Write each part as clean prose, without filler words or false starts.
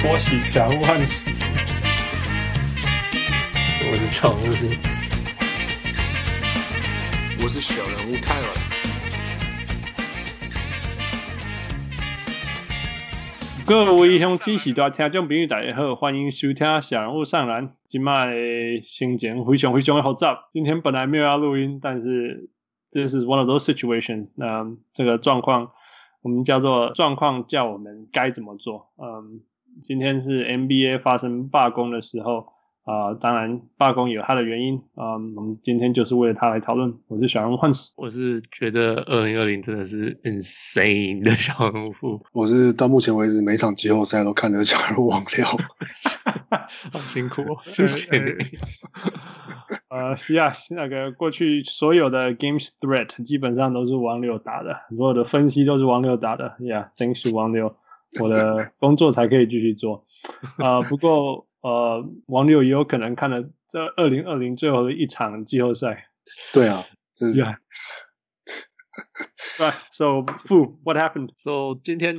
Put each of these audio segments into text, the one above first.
波喜小人物漢斯， 我是小人物， 我是小人物泰勒。 各位鄉親是大聽眾朋友大家好，歡迎收聽小人物上籃。今天心情非常的複雜，今天本來沒有要錄音，但是 this is one of those situations。這個狀況我們叫做狀況叫我們該怎麼做。今天是 NBA 發生罷工的時候，當然罷工有它的原因，我們今天就是為了它來討論。我是小人物漢斯， 我是覺得2020真的是 insane 的小人物。 我是到目前為止每場季後賽都看得小人物忘掉， 好辛苦哦，謝謝你。 那個過去所有的 games threat 基本上都是王六打的，所有的分析都是王六打的。thanks to 王六，我的工作才可以繼續做。不過王六也有可能看了這2020最後的一場季後賽。 對啊，這是。 Right, so Fu, what happened? So 今天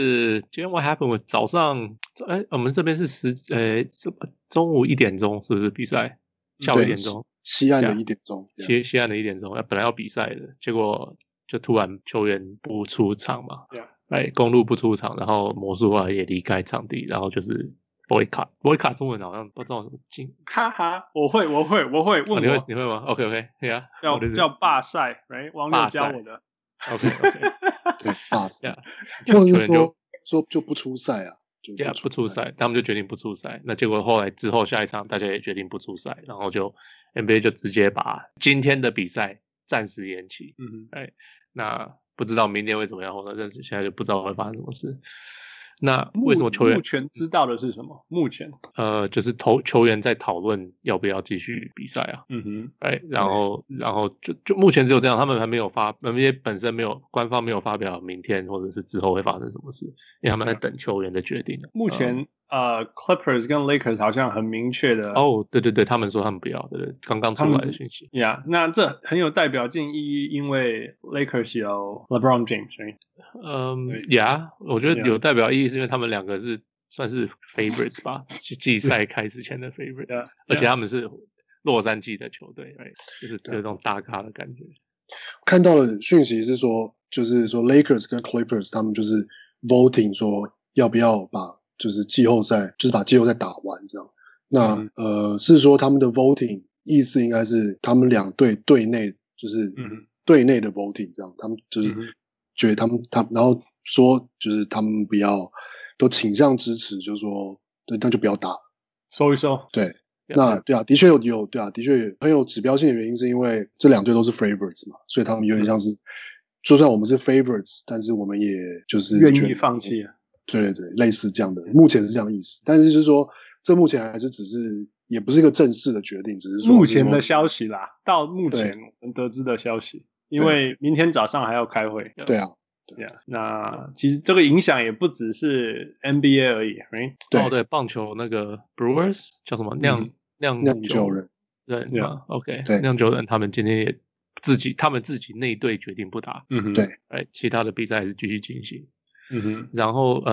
what happened？ 我早上我們這邊是中午1點鐘是不是比賽？下午1點鐘， 西岸的1點鐘， 西岸的1點鐘，本來要比賽的，結果就突然球員不出場嘛，公鹿不出場，然後魔術後來也離開場地，然後就是 boycott 中文好像不知道怎麼進， 哈哈，我會問我， 你會嗎 ？OK， yeah， 叫罷賽 ，right？ 王六教我的 ，OK， 对，罷賽，或者是說就不出賽啊。 不出賽，他們就決定不出賽。那結果後來之後下一場，大家也決定不出賽，然後就 NBA 就直接把今天的比賽暫時延期。那不知道明天會怎麼樣，或者現在就不知道會發生什麼事。那為什麼球員目前知道的是什麼？目前就是球員在討論要不要繼續比賽啊。然後就目前只有這樣，他們還沒有NBA 本身官方没有發表明天或者是之後會發生什麼事，因為他們在等球員的決定。 目前Clippers 跟 Lakers 好像很明確的。 對，他們說他們不要，對，剛剛出來的訊息。 那這很有代表性意義，因為 Lakers 有 LeBron James。 我覺得有代表意義是因為他們兩個算是 favorites 吧，季賽開始前的 favorite， 而且他們是洛杉磯的球隊，就是有那種大咖的感覺。 看到的訊息是说，就是說 Lakers 跟 Clippers 他們就是 voting 說要不要把就是季後赛，就是把季後賽打完這樣。那是說他们的 voting 意思应該是他們兩隊隊內就是隊內的 voting 這樣，他們就是覺得他然後說就是他們不要都傾向支持，就是說對，那就不要打了， 收一收。 對，那對啊，的確有对啊，的確很有指標性的原因，是因為這兩隊都是 favorites 嘛，所以他們有點像是，就算我們是 favorites， 但是我們也就是願意放棄啊。 對，類似這樣的，目前是這樣的意思，但是就是說，這目前還是只是，也不是一個正式的決定，只是說目前的消息啦，到目前我們得知的消息，因為明天早上還要開會。 對啊。 那其實這個影響也不只是 NBA 而已 ，right？ 對，棒球那個 Brewers 叫什麼釀酒人，對，OK， 釀酒人他們今天也他們自己內隊決定不打，對，其他的比賽還是繼續進行，然後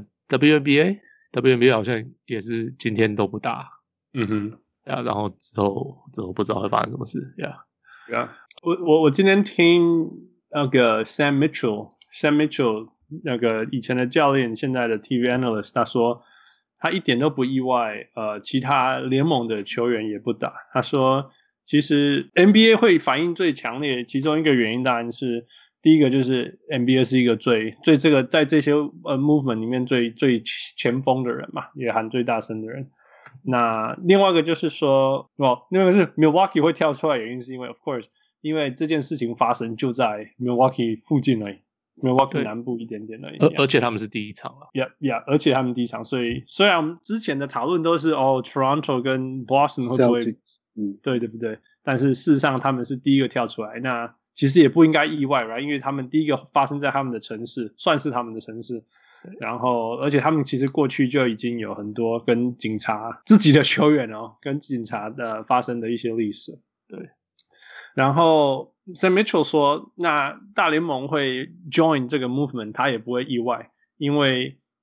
WNBA 好像也是今天都不打，然後之後不知道会發生什麼事， 我今天聽那個 Sam Mitchell 那個以前的教練，現在的 TV analyst， 他說他一點都不意外，其他聯盟的球員也不打。他說其實 NBA 會反應最強烈，其中一個原因當然是第一個就是 NBA 是一個最這個在這些movement 裡面最前鋒的人嘛，也喊最大聲的人。那另外一個就是說，另外一個是 Milwaukee 會跳出來的原因是因為 of course 因為這件事情發生就在 Milwaukee 附近而已，Milwaukee 南部一點點而已， 而且他們是第一場了。 而且他們第一場，所以雖然我們之前的討論都是Toronto 跟 Boston 會不會對不對？但是事實上他們是第一個跳出來，那其實也不應該意外 right？ 因為他們第一個發生在他們的城市，算是他們的城市。然後而且他們其實過去就已經有很多跟警察自己的球員跟警察的發生的一些歷史，對。然後 Sam Mitchell 說，那大聯盟會 join 這個 movement， 他也不會意外，因為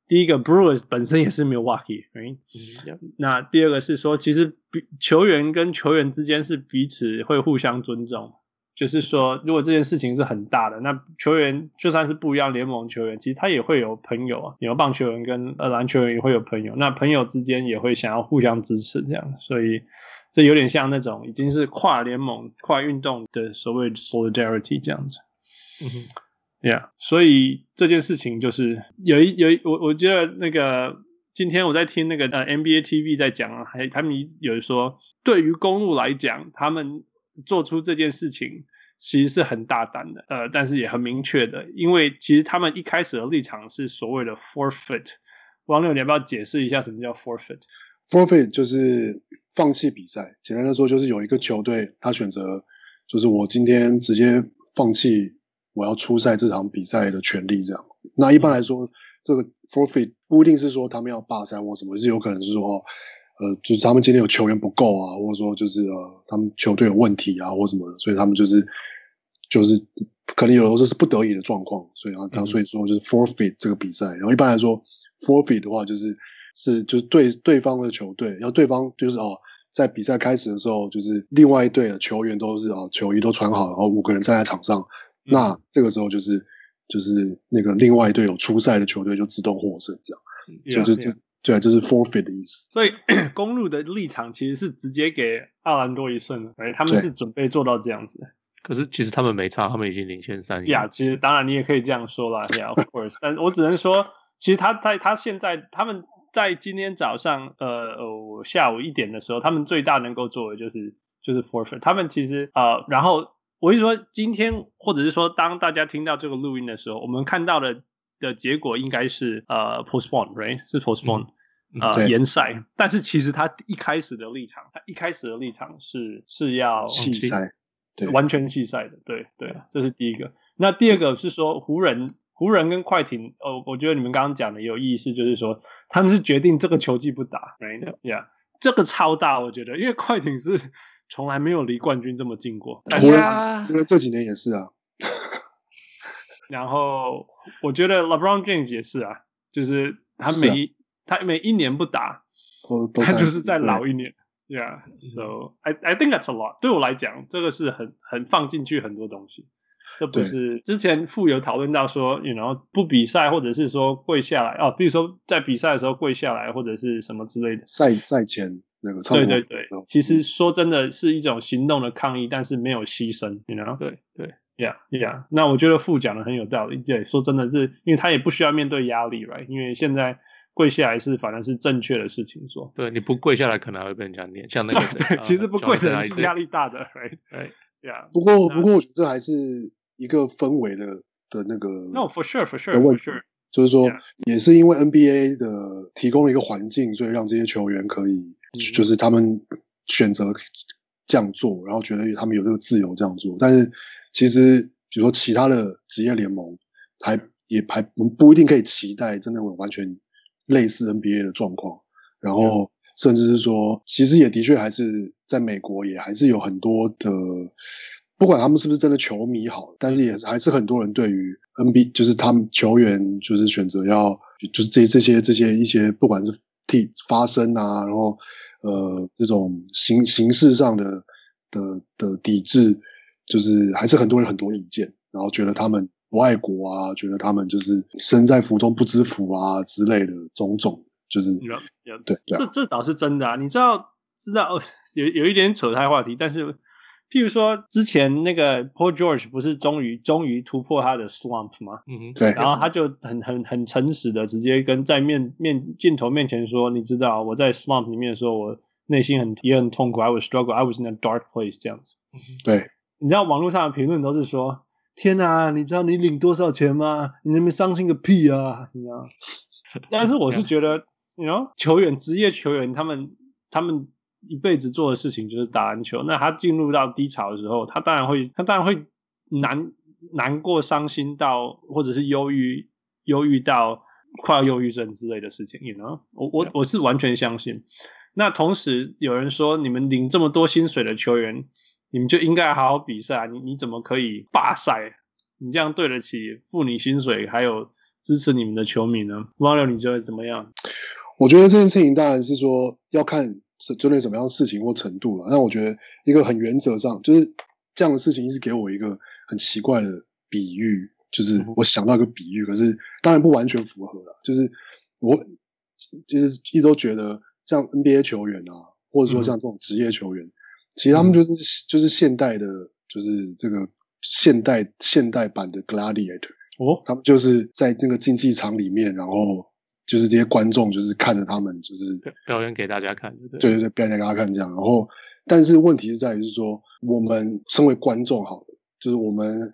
第一個 Brewers 本身也是 Milwaukee，right？那第二個是說，其實球員跟球員之間是彼此会互相尊重。就是說，如果這件事情是很大的，那球員就算是不一樣聯盟球員，其實他也會有朋友啊，有棒球员跟籃球員也會有朋友，那朋友之間也會想要互相支持這樣，所以這有點像那種已經是跨聯盟、跨運動的所謂 solidarity 這樣子。Yeah， 所以這件事情就是我覺得那個今天我在聽那個NBA TV 在講，他們有說，對於公鹿來講，他們做出這件事情其實是很大膽的，但是也很明確的，因為其實他們一開始的立場是所謂的 forfeit。王六，你要不要解釋一下什麼叫 forfeit？Forfeit 就是放棄比賽，簡單的說就是有一個球隊他選擇，就是我今天直接放棄我要出賽這場比賽的權利，這樣。那一般來說，這個 forfeit 不一定是說他們要罷賽或什麼，是有可能是說就是他們今天有球員不夠啊，或者說就是他們球隊有問題啊或什麼的，所以他們就是可能有的时候是不得已的狀況，所以所以說就是 forfeit 這個比賽。然後一般來說 forfeit 的话就是對方的球隊，然后對方就是在比賽開始的時候，就是另外一隊的球員都是球衣都穿好，然後5個人站在場上，那這個時候就是那個另外一隊有出賽的球隊就自動獲勝這樣，所以對，這是 forfeit 的意思。 所以公鹿的立場其實是直接給奧蘭多一勝的，他們是準備做到這樣子。 可是其實他們沒差，他們已經領先3贏。 其實當然你也可以這樣說啦，of course。但我只能說，其實他現在他們在今天早上下午1點的時候，他們最大能夠做的就是 forfeit。他們其實然後我是说今天或者是說當大家听到這個錄音的時候，我們看到的結果應該是postpone， right？ 是 postpone。延賽，但是其實他一開始的立場是要棄賽，對， 完全棄賽的，對，這是第一個。那第二個是說湖人跟快艇，我覺得你們剛剛講的也有意思，就是說他們是決定這個球季不打 ，right？ 這個超大，我覺得，因為快艇是從來沒有離冠軍這麼近過， 湖人因為這幾年也是啊。 然後我覺得 LeBron James 也是啊，就是他每一年不打，他就是再老一年。Yeah, so I think that's a lot. 对我來講，這個是很放進去很多東西。這不是之前富有討論到說不比賽，或者是說跪下來比如說在比賽的時候跪下來，或者是什麼之類的。賽前那個對，其實說真的是一種行動的抗議，但是沒有犧牲。對。Yeah. 那我覺得富講的很有道理。對，說真的是，因為他也不需要面對壓力 ，right？ 因為現在跪下來反而是正確的事情做。 對，你不跪下來可能還會被人家念，像那個對，其實不跪的人是壓力大的 ，right？ 不過我覺得這還是一個氛圍的那個 No for sure 的問題，就是說也是因為 NBA 的提供了一個環境，所以讓這些球員可以就是他們選擇這樣做，然後覺得他們有這個自由這樣做。但是其實比如說其他的職業聯盟也不一定可以期待真的有完全類似 NBA 的狀況，然後甚至是說其實也的確還是在美國也還是有很多的，不管他們是不是真的球迷好，但是也還是很多人对於 NBA 就是他們球員就是選擇要就是這些一些不管是發聲啊，然後這種形式上的抵制，就是還是很多人很多意見，然後覺得他們不愛國啊，覺得他們就是身在福中不知福啊之類的種種，就是对， 這倒是真的啊。你知道有一點扯開話題，但是譬如說之前那個 Paul George 不是終於突破他的 slump 嗎？ 對。 然後他就很誠實的直接跟在鏡頭面前說，你知道我在 slump 裡面的時候，我內心也很痛苦 ，I was struggle, I was in a dark place 這樣子。 對。你知道網絡上的評論都是說，天啊，你知道你領多少錢嗎？你那邊傷心個屁啊！你知道？但是我是覺得職業球員他們一輩子做的事情就是打籃球。那他進入到低潮的時候，他當然會難過、傷心到，或者是憂鬱到快要憂鬱症之類的事情。我是完全相信。那同時有人說，你們領這麼多薪水的球員，你們就應該好好比賽，你怎麼可以罷賽？你這樣對得起付你薪水還有支持你們的球迷呢？汪流，你覺得怎麼樣？ 我覺得这件事情当然是說要看针对什麼樣的事情或程度了。但我覺得一個很原則上，就是這樣的事情一直給我一個很奇怪的比喻，就是我想到一個比喻，可是當然不完全符合了。就是我就是一直都覺得像 NBA 球員啊，或者說像這種職業球員，其實他們就是現代的，就是這個現代版的 Gladiator。他們就是在那個競技場裡面，然後就是這些觀眾就是看着他們就是表演給大家看， 對，表演給大家看這樣。然後，但是問題是在於是說，我們身為觀眾，好的，就是我們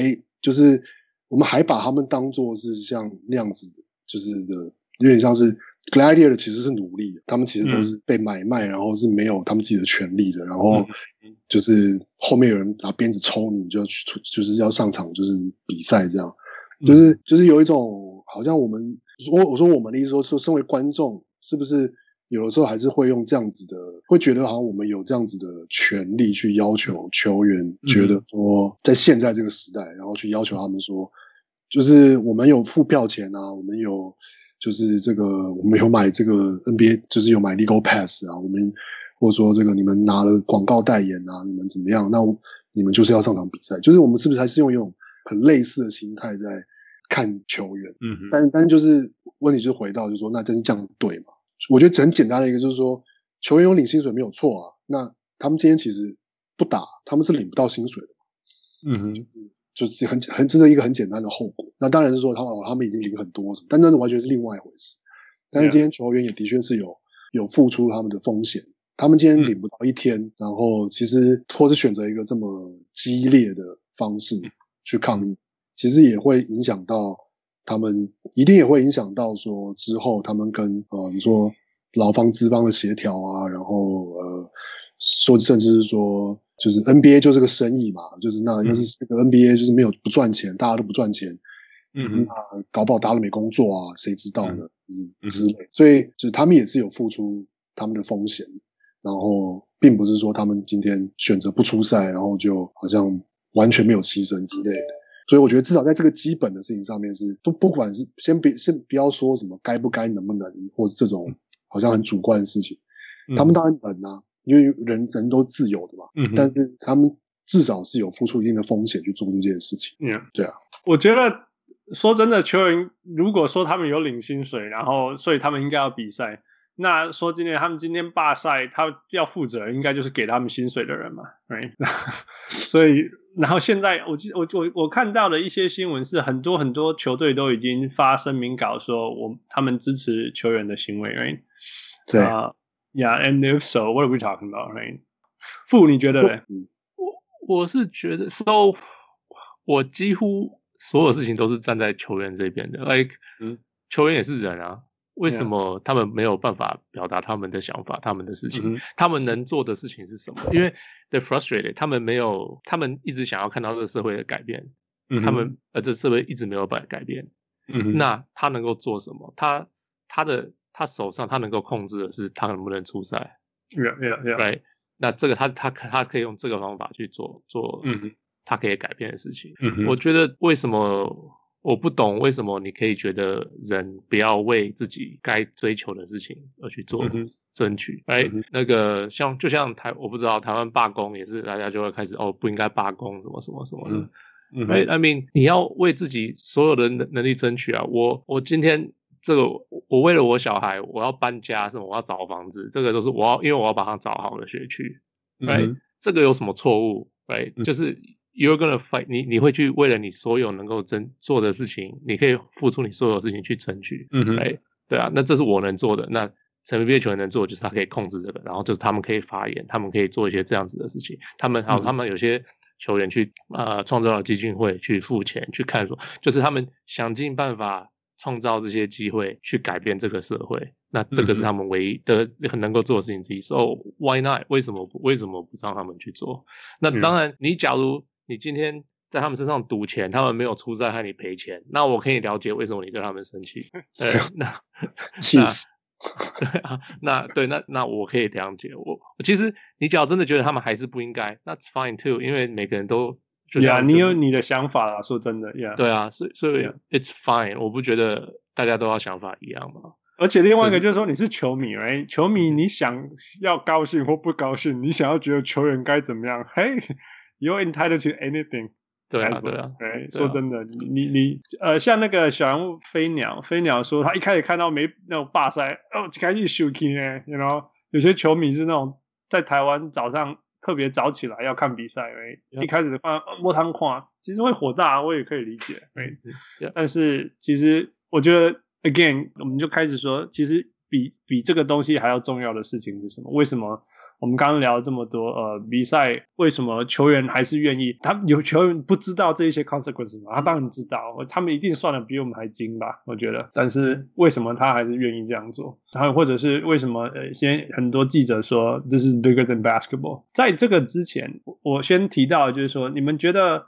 還把他們當作是像那樣子的，就是有點像是 Gladiator 其實是奴隸，他們其實都是被買賣，然後是沒有他們自己的權利的，然後就是後面有人拿鞭子抽你，就要去就是要上場就是比賽這樣。就是有一種好像我說我們的意思說身為觀眾是不是有的時候還是會用這樣子的，會覺得好像我們有這樣子的權利去要求球員，覺得說在現在這個時代，然後去要求他們說，就是我們有付票錢啊，我们有就是我們有買這個 NBA 就是有買 Legal Pass 啊，我們或者說這個你們拿了廣告代言啊，你們怎麼樣，那你們就是要上場比賽，就是我們是不是還是用一種很類似的心態在看球員，但是就是問題就是回到就是說，那真是這樣對嗎？我覺得很簡單的一個就是說，球員有領薪水沒有錯啊，那他們今天其實不打，他們是領不到薪水的，就是这是一個很簡單的後果。那當然是說他們已經領很多什麼，但那完全是另外一回事。但是今天球員也的確是有付出他們的風險，他們今天領不到一天，然後其實或是選擇一個這麼激烈的方式去抗議，其實也會影響到他們，一定也會影響到說之後他們跟你說勞方資方的協調啊，然後說甚至是說就是 NBA 就是個生意嘛，就是那要是這個 NBA 就是沒有不賺錢，大家都不賺錢，那搞不好大家都沒工作啊，誰知道呢？之類，所以就是他們也是有付出他們的風險，然後並不是說他們今天選擇不出賽，然後就好像完全沒有犧牲之類的。所以我覺得至少在這個基本的事情上面是不管是先不要說什麼該不該能不能，或是這種好像很主觀的事情，他們當然能啊，因為人都自由的嘛，但是他們至少是有付出一定的風險去做這件事情。對啊， 我覺得說真的，球員如果說他們有領薪水，然後所以他們應該要比賽，那說他们今天罷賽，他要負責應該就是給他們薪水的人嘛 ，right？ 所以然後現在我看到的一些新聞是很多球隊都已經發聲明稿說他們支持球員的行為 ，right？ 對 ，yeah, and if so, what are we talking about, right？ 傅，你覺得呢？ 我是覺得 ，so 我幾乎所有事情都是站在球員這邊的 ，like，球員也是人啊。為什麼他們沒有辦法表達他們的想法、他們的事情？他們能做的事情是什麼？因為 they're frustrated， 他們一直想要看到這個社會的改變，這社會一直沒有改變。那他能夠做什麼？他手上他能夠控制的是他能不能出賽。Right？ 那這個他可以用這個方法去做他可以改變的事情。我覺得為什麼？我不懂為什麼你可以覺得人不要為自己該追求的事情而去做爭取。那個就像我不知道台灣罷工也是，大家就會開始不應該罷工什麼什麼什麼的。I mean 你要為自己所有的能力爭取啊！我今天我為了我小孩，我要搬家什麼，我要找房子，這個都是因為我要把他找好的學區。這個有什麼錯誤？就是。You're gonna fight， 你會去為了你所有能夠做的事情，你可以付出你所有事情去爭取。對啊，那這是我能做的。那NBA 球員能做的就是他可以控制這個，然後就是他們可以發言，他們可以做一些這樣子的事情。他們有些球員去創造了基金會去付錢去看說，就是他們想盡辦法創造這些機會去改變這個社會。那這個是他們唯一的很能夠做的事情之一。So why not？ 為什麼不讓他們去做？那當然，假如你今天在他們身上賭錢，他們沒有出賽害你賠錢，那我可以了解為什麼你對他們生氣。對， 氣死。 那我可以了解。其實你只要真的覺得他們還是不應該，那 fine too， 因為每個人都 ，yeah， 你有你的想法啦，說真的 ，yeah， 对啊，所以 it's fine， 我不覺得大家都要想法一樣嘛。 而且另外一個就是說，你是球迷，right？ 球迷你想要高興或不高興，你想要覺得球員該怎麼樣，Hey，you're entitled to anything。 對啊， 說真的，你像那個小人物飛鳥說，他一開始看到沒那種罷賽，開始休息呢，you know，有些球迷是那種在台灣早上特別早起來要看比賽，一開始摸湯看，其實會火大，我也可以理解，但是其實我覺得 again， 我們就開始說，其實比這個東西還要重要的事情是什麼？為什麼我們剛剛聊了這麼多比賽，為什麼球員還是願意？有球員不知道這一些 consequences 嗎？他當然知道，他們一定算得比我們還精吧，我覺得。但是為什麼他還是願意這樣做？或者是為什麼先很多記者說 This is bigger than basketball？ 在這個之前，我先提到的就是說，你們覺得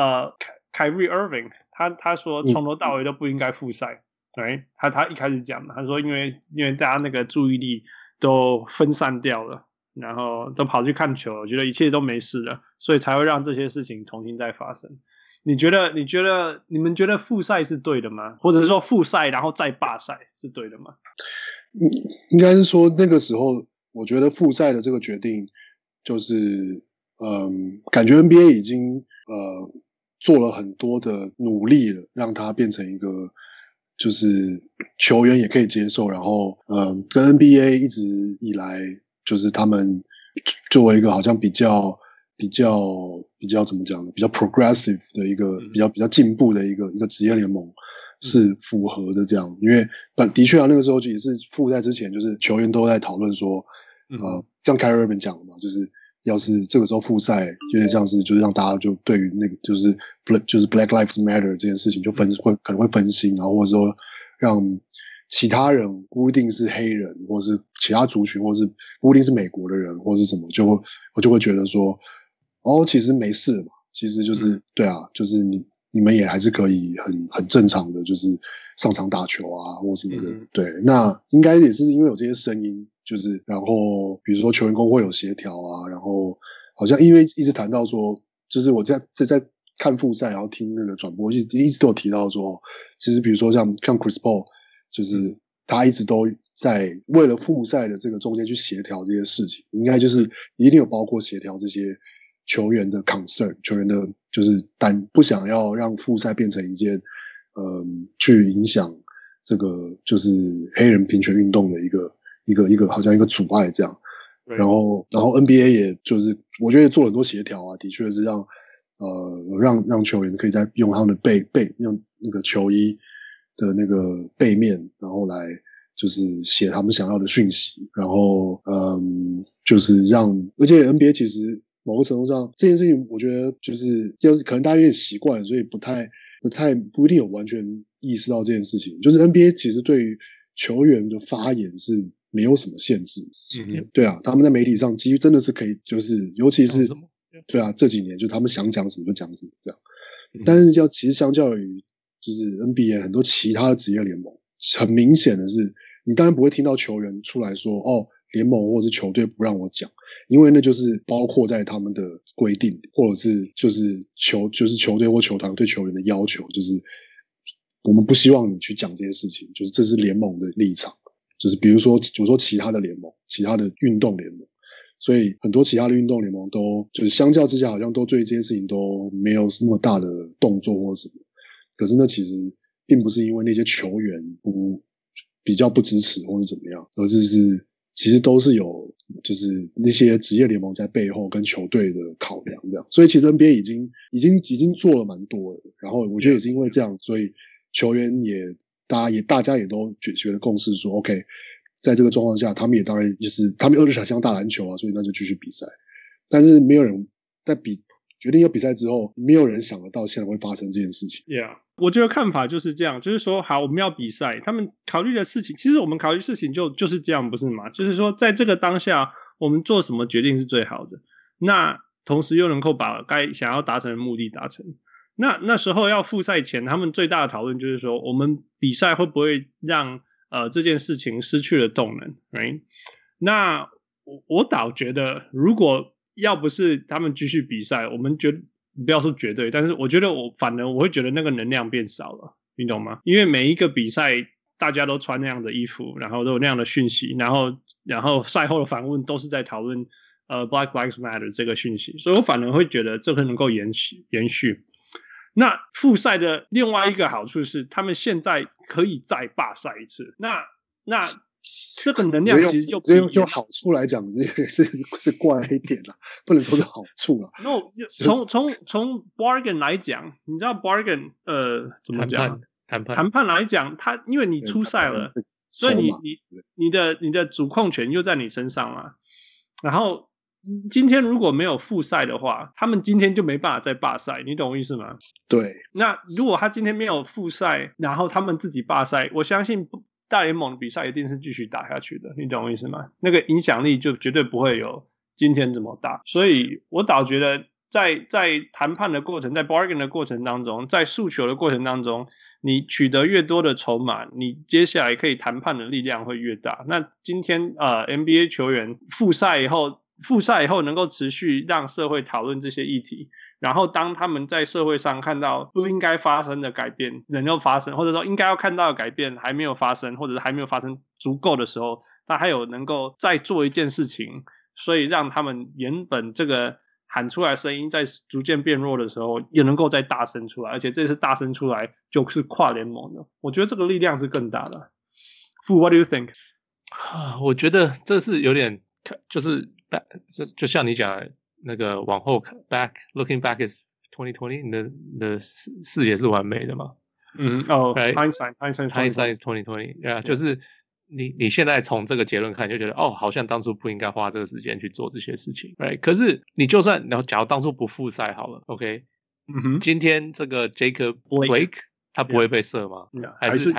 Kyrie Irving 他說從頭到尾都不應該複賽。對，他一開始講，他說因為大家那個注意力都分散掉了，然後都跑去看球了，我覺得一切都沒事了，所以才會讓這些事情重新再發生。你們覺得複賽是對的嗎？或者是說複賽然後再罷賽是對的嗎？ 應該是說那個時候，我覺得複賽的這個決定就是感覺 NBA 已經做了很多的努力了，讓它變成一個就是球員也可以接受，然後跟 NBA 一直以來就是他們作為一個好像比較怎麼講呢？比較 progressive 的一個比較進步的一個職業聯盟是符合的這樣，因為的確啊，那個時候也是複賽之前，就是球員都在討論說，像 Kyrie Irving 講的嘛，就是要是這個時候複賽，有點像是就是讓大家就對於那個就是 Black Lives Matter 這件事情就可能會分心，然後或者說讓其他人不一定是黑人，或是其他族群，或是不一定是美國的人，或是什麼，我就會覺得說，其實沒事嘛，其實就是對啊，就是你們也還是可以很正常的，就是上場打球啊，或什麼的。對，那應該也是因為有這些聲音，就是然後比如說球員工會有協調啊，然後好像因為一直談到說，就是我在看複賽，然後聽那個轉播，一直都有提到說，其實比如說像 Chris Paul， 就是他一直都在為了複賽的這個中間去協調這些事情，應該就是一定有包括協調這些球員的 concern， 球員的就是不想要讓複賽變成一件去影響這個就是黑人平權運動的一個好像一個阻礙這樣。然後 NBA 也就是我覺得做了很多協調啊，的確是讓球員可以在用他們的用那個球衣的那個背面，然後來就是寫他們想要的訊息，然後就是而且 NBA 其實某個程度上這件事情，我覺得就是可能大家有點習慣了，所以不一定有完全意識到這件事情。就是 NBA 其實對於球員的發言是沒有什麼限制，對啊，他們在媒體上其實真的是可以，就是尤其是對啊，這幾年就他们想講什麼就講什麼這樣。但是其實相較於就是 NBA 很多其他的職業聯盟，很明顯的是，你當然不會聽到球員出來說聯盟或是球隊不讓我講，因為那就是包括在他們的規定，或者是就是球隊或球團對球員的要求，就是我們不希望你去講這些事情，就是這是聯盟的立場，就是比如說其他的聯盟，其他的運動聯盟，所以很多其他的運動聯盟都就是相較之下好像都對這件事情都沒有那麼大的動作或什麼，可是那其實並不是因為那些球員比較不支持或是怎麼樣，而是其實都是有就是那些職業聯盟在背後跟球隊的考量這樣，所以其實 NBA 已經做了蠻多的，然後我覺得也是因為這樣，所以球員大家也都覺得共識說 OK， 在這個狀況下，他們也當然就是他們想像打籃球啊，所以那就繼續比賽，但是沒有人在決定要比賽之後，沒有人想得到現在會發生這件事情。 Yeah， 我覺得看法就是這樣，就是說，好，我们要比賽，他們考慮的事情，其實我們考慮事情就是這樣，不是嗎？就是說，在這個當下，我們做什麼決定是最好的，那同時又能夠把該想要達成的目的達成。那時候要複賽前，他們最大的討論就是說，我們比賽會不會讓這件事情失去了動能 ，right？ 那我倒覺得，如果要不是他們繼續比賽，我們不要說絕對，但是我覺得反而我會覺得那個能量變少了，你懂嗎？因為每一個比賽大家都穿那樣的衣服，然後都有那樣的訊息，然後賽後的訪問都是在討論Black Lives Matter 這個訊息，所以我反而會覺得這個能夠延續。那複賽的另外一個好處是，他們現在可以再罷賽一次。那這個能量其實就用好處來講，這個是怪一點啦，不能說是好處啦。 No， 從 bargain 來講，你知道 bargain 怎麼講？談判來講，他因為你出賽了，所以你的主控權又在你身上嘛。然後今天如果沒有复赛的話，他們今天就沒办法再罷賽，你懂我意思嗎？ 对。 那如果他今天沒有复赛，然後他們自己罷賽，我相信大聯盟的比賽一定是繼續打下去的，你懂我意思嗎？那個影響力就絕對不會有今天這麼大。所以我倒覺得在談判的過程，在 bargain 的過程當中，在訴求的過程當中，你取得越多的籌碼，你接下來可以談判的力量會越大。那今天NBA 球員复賽以後能夠持續讓社會討論這些議題，然後當他們在社會上看到不應該發生的改變能夠發生，或者說應該要看到的改變還沒有發生，或者是還沒有發生足夠的時候，他還有能夠再做一件事情，所以讓他們原本這個喊出來的聲音在逐漸變弱的時候也能夠再大聲出來，而且這次大聲出來就是跨聯盟的，我覺得這個力量是更大的。Fu, what do you think？ 我覺得這是有點就是就像你講的那個往後 looking back is 2020， 你的视野是完美的嘛 right? Hindsight is 2020， yeah, 就是你現在從這個結論看就覺得好像當初不應該花這個時間去做這些事情 right？ 可是你就算假如當初不复賽好了 OK， 今天這個 Jacob Blake他不會被射嗎？ 還是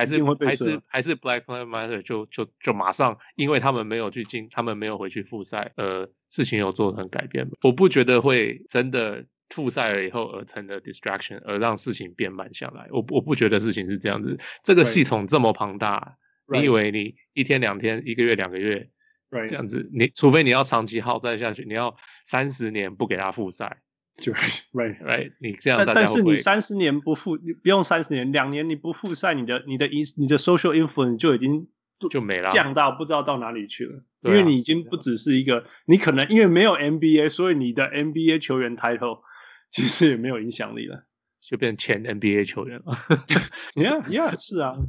Black Lives Matter 就馬上因為他們沒有回去复賽事情有做成改變嗎？我不覺得會真的复賽了以後而成的 distraction 而讓事情變慢下來，我不覺得事情是這樣子。這個系統這麼龐大，你以為你一天兩天一個月兩個月這樣子，你除非你要長期耗戰下去，你要30年不給他复賽，right， 你這樣但是你30年你不用30年，2年你不复賽，你的 social influence 就已經就沒了， 降到不知道到哪裡去了，因為你已經不只是一個，你可能因為沒有 NBA， 所以你的 NBA 球員 title 其實也沒有影響力了， 就變前 NBA 球員了。 yeah， 是啊。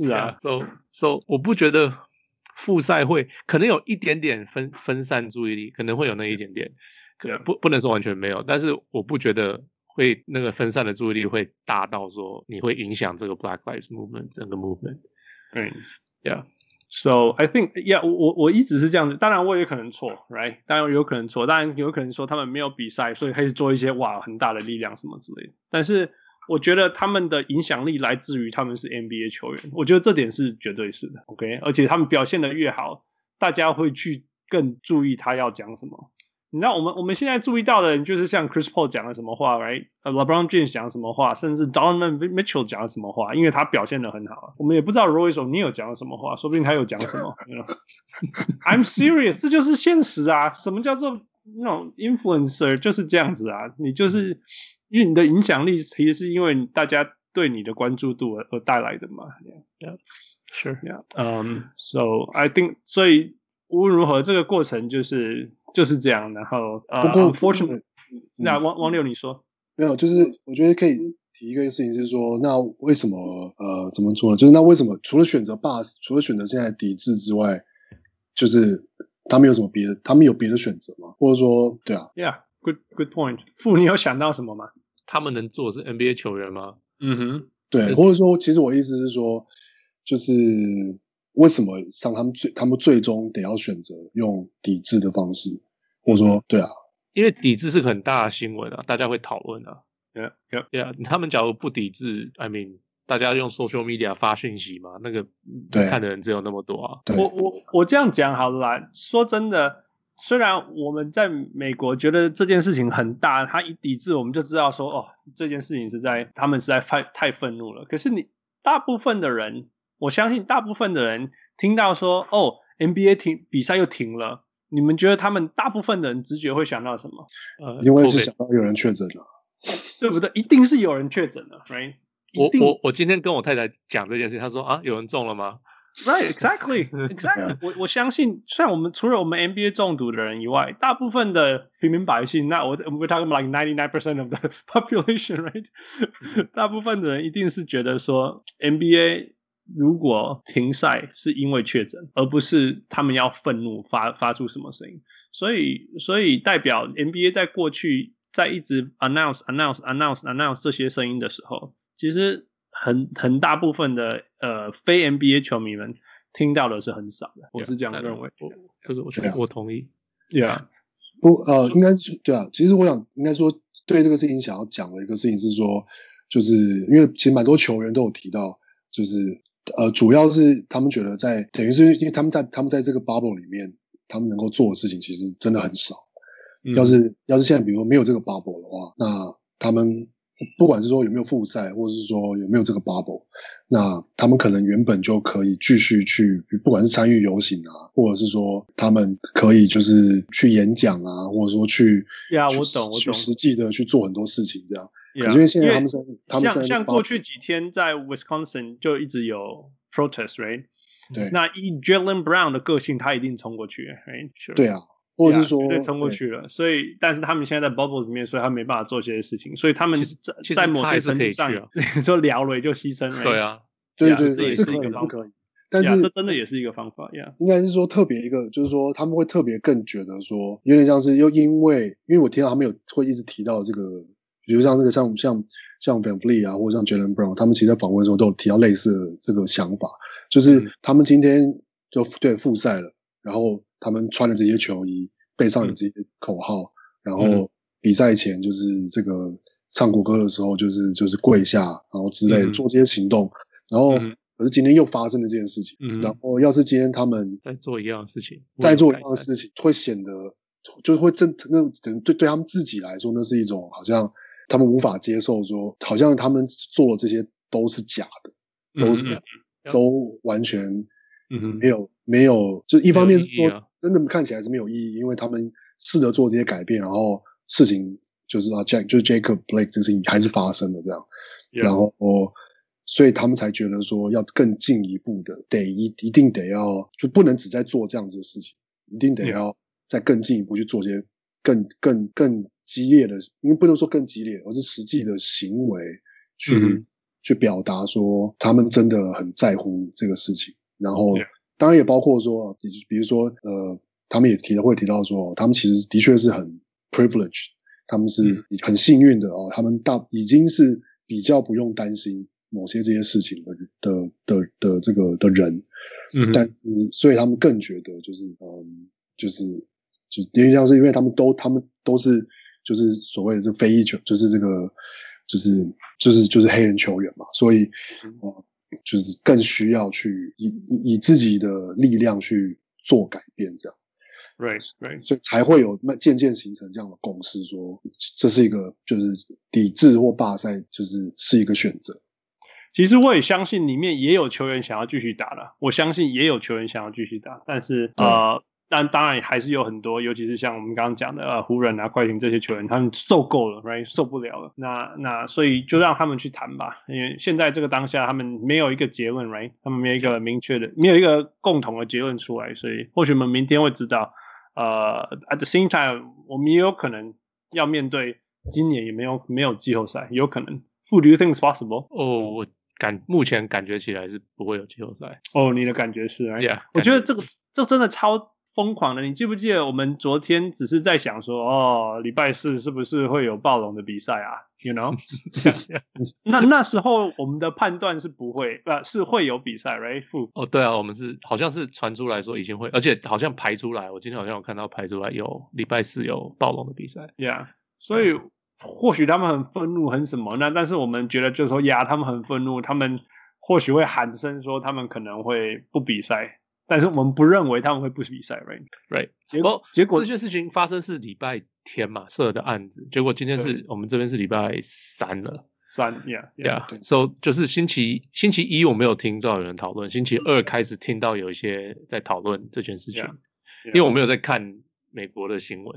So 我不覺得复賽會可能有一點點分散注意力，可能會有那一點點，不能說完全沒有，但是我不覺得會那個分散的注意力會大到說你會影響這個 Black Lives Movement 整個 movement。 So I think yeah， 我一直是這樣子，當然我也可能錯 ，right？ 當然有可能錯，當然有可能說他們沒有比賽，所以開始做一些很大的力量什麼之類的，但是我覺得他們的影響力來自於他們是 NBA 球員，我覺得這點是絕對是的 ，OK？ 而且他們表現得越好，大家會去更注意他要講什麼。你知道我們現在注意到的人就是像 Chris Paul 講了什麼話 ，right？ LeBron James 講了什麼話，甚至 Donovan Mitchell 講了什麼話，因為他表現得很好。我們也不知道 Royce O'Neal 講了什麼話，說不定他有講什麼。I'm serious， 這就是現實啊！什麼叫做那種 influencer 就是這樣子啊？你就是因為你的影響力其實是因為大家對你的關注度而帶來的嘛。 Sure. So I think 所以無論如何，這個過程就是這樣。然後unfortunately， 那汪六你說沒有？就是我覺得可以提一個事情是說，那為什麼怎麼說呢？就是那為什麼除了選擇現在抵制之外，就是他們有什麼別的？他们有別的選擇嗎？或者說，對啊 ，Yeah，good point。傅，你有想到什麼嗎？ 他們能做的是 NBA 球員嗎？ 對，或者說，其實我意思是說，就是為什麼像他們最終得要選擇用抵制的方式，或者說，對啊， 因為抵制是个很大的新聞啊，大家會討論啊。 Yeah， 他們假如不抵制 ，I mean， 大家用 social media 發訊息嘛，那個看的人只有那麼多啊。 我這樣講好了啦，說真的，雖然我們在美國覺得這件事情很大，他一抵制我們就知道說，這件事情他們實在太憤怒了。可是大部分的人，我相信大部分的人聽到說NBA 比賽又停了，你們覺得他們大部分的人直覺會想到什麼？ 因為是想到有人確診了。 對不对？一定是有人確診了 ，right？ 我今天跟我太太講這件事，她說啊，有人中了嗎？ Right, exactly. 我相信，像除了我們 NBA 中毒的人以外，大部分的平民百姓，那we're talking about like 99% of the population, right? 大部分的人一定是覺得說 NBA 如果停賽是因為確診，而不是他們要憤怒發出什麼聲音。所以代表 NBA 在過去在一直 announce 這些聲音的時候，其實很大部分的非 NBA 球迷們聽到的是很少的，我是這樣認為。 這個我同意。 Yeah， 應該是對啊。其實我想應該說，對這個事情想要講的一個事情是說，就是因為其實蠻多球員都有提到，就是主要是他們覺得等於是因為他们在這個 bubble 裡面，他們能夠做的事情其實真的很少。要是現在比如說沒有這個 bubble 的話，那他們不管是說有沒有複賽，或者是說有沒有這個 bubble， 那他們可能原本就可以繼續去，不管是參與遊行啊，或者是說他們可以就是去演講啊，或者說去實際的去做很多事情這樣。可是因為現在他們像過去幾天在 Wisconsin 就一直有 protest， right？ 对。 那以 Jaylen Brown 的個性，他一定衝過去 ，right？ Sure. 對啊。或者是說， 絕對衝過去了，所以，但是他們現在在 bubble 裡面，所以他沒辦法做這些事情，所以他們在某些程度上，你說聊了就犧牲了。 對啊， 對， 這也是一個方法。 但是這真的也是一個方法呀。 應該是說特別一個，就是說他們會特別更覺得說，有點像是又因為我聽到他們會一直提到這個，比如像那個像 VanVleet 啊，或者像 Jaylen Brown， 他們其實在訪問的時候都有提到類似的這個想法，就是他們今天就複賽了，然後他們穿了這些球衣，背上有這些口號，然後比賽前就是这個唱國歌的時候，就是跪下，然後之類的做這些行動，然後可是今天又發生了這件事情，然後要是今天他們在做一樣的事情， 會顯得就會對他們自己來說，那是一種好像他們無法接受說，好像他們做的這些都是假的，都完全沒有，就一方面是說真的看起來是沒有意義，因為他們試着做這些改變，然後事情就是Jacob Blake 這個事情還是發生了這樣，然後所以他們才覺得說要更進一步的一定得要，就不能只在做這樣子的事情，一定得要再更進一步去做些更激烈的，因為不能說更激烈，而是實際的行為去表達說他們真的很在乎這個事情，然後當然也包括說，比如說他們也會提到說，他們其實的確是很 privileged， 他們是很幸運的哦，他們已經是比較不用擔心某些這些事情的這個的人，但是所以他们更覺得就是因為像是因為他們都是就是所謂的這非裔球，就是這個就是黑人球員嘛，所以就是更需要去以自己的力量去做改變，這樣。 Right. 所以才會有漸漸形成這樣的共識，說這是一個就是抵制或罷賽，是一個選擇。 其實我也相信裡面也有球員想要繼續打的，我相信也有球員想要繼續打，但是但當然還是有很多，尤其是像我們剛剛講的湖人啊、快艇這些球員，他們受夠了 ，right， 受不了了。那所以就讓他們去談吧，因為現在這個當下他們沒有一個結論 ，right， 他們沒有一個明確的，沒有一個共同的結論出來，所以或許我們明天會知道。At the same time， 我們也有可能要面對今年也沒有季後賽，有可能。Who do you think is possible？ 我目前感覺起來是不會有季後賽。 你的感覺是 ？Yeah， 我覺得這真的超瘋狂的。你記不記得我們昨天只是在想說，禮拜四是不是會有暴龍的比賽啊 ？You know？ 那時候我們的判斷是不會，是會有比賽 ，right？ 對啊，我們好像是傳出來說已經會，而且好像排出來，我今天好像有看到排出來有禮拜四有暴龍的比賽。 Yeah， 所以或許他們很憤怒，很什麼呢？但是我們覺得就是說，他們很憤怒，他們或許會喊聲說他們可能會不比賽。但是我們不認為他們會不比賽 ，right？ 結果這件事情發生是禮拜天嘛，設的案子，結果今天我們這邊是禮拜三了，yeah，so 就是星期一我沒有聽到有人討論，星期二開始聽到有一些在討論這件事情，因為我沒有在看美國的新聞嘛，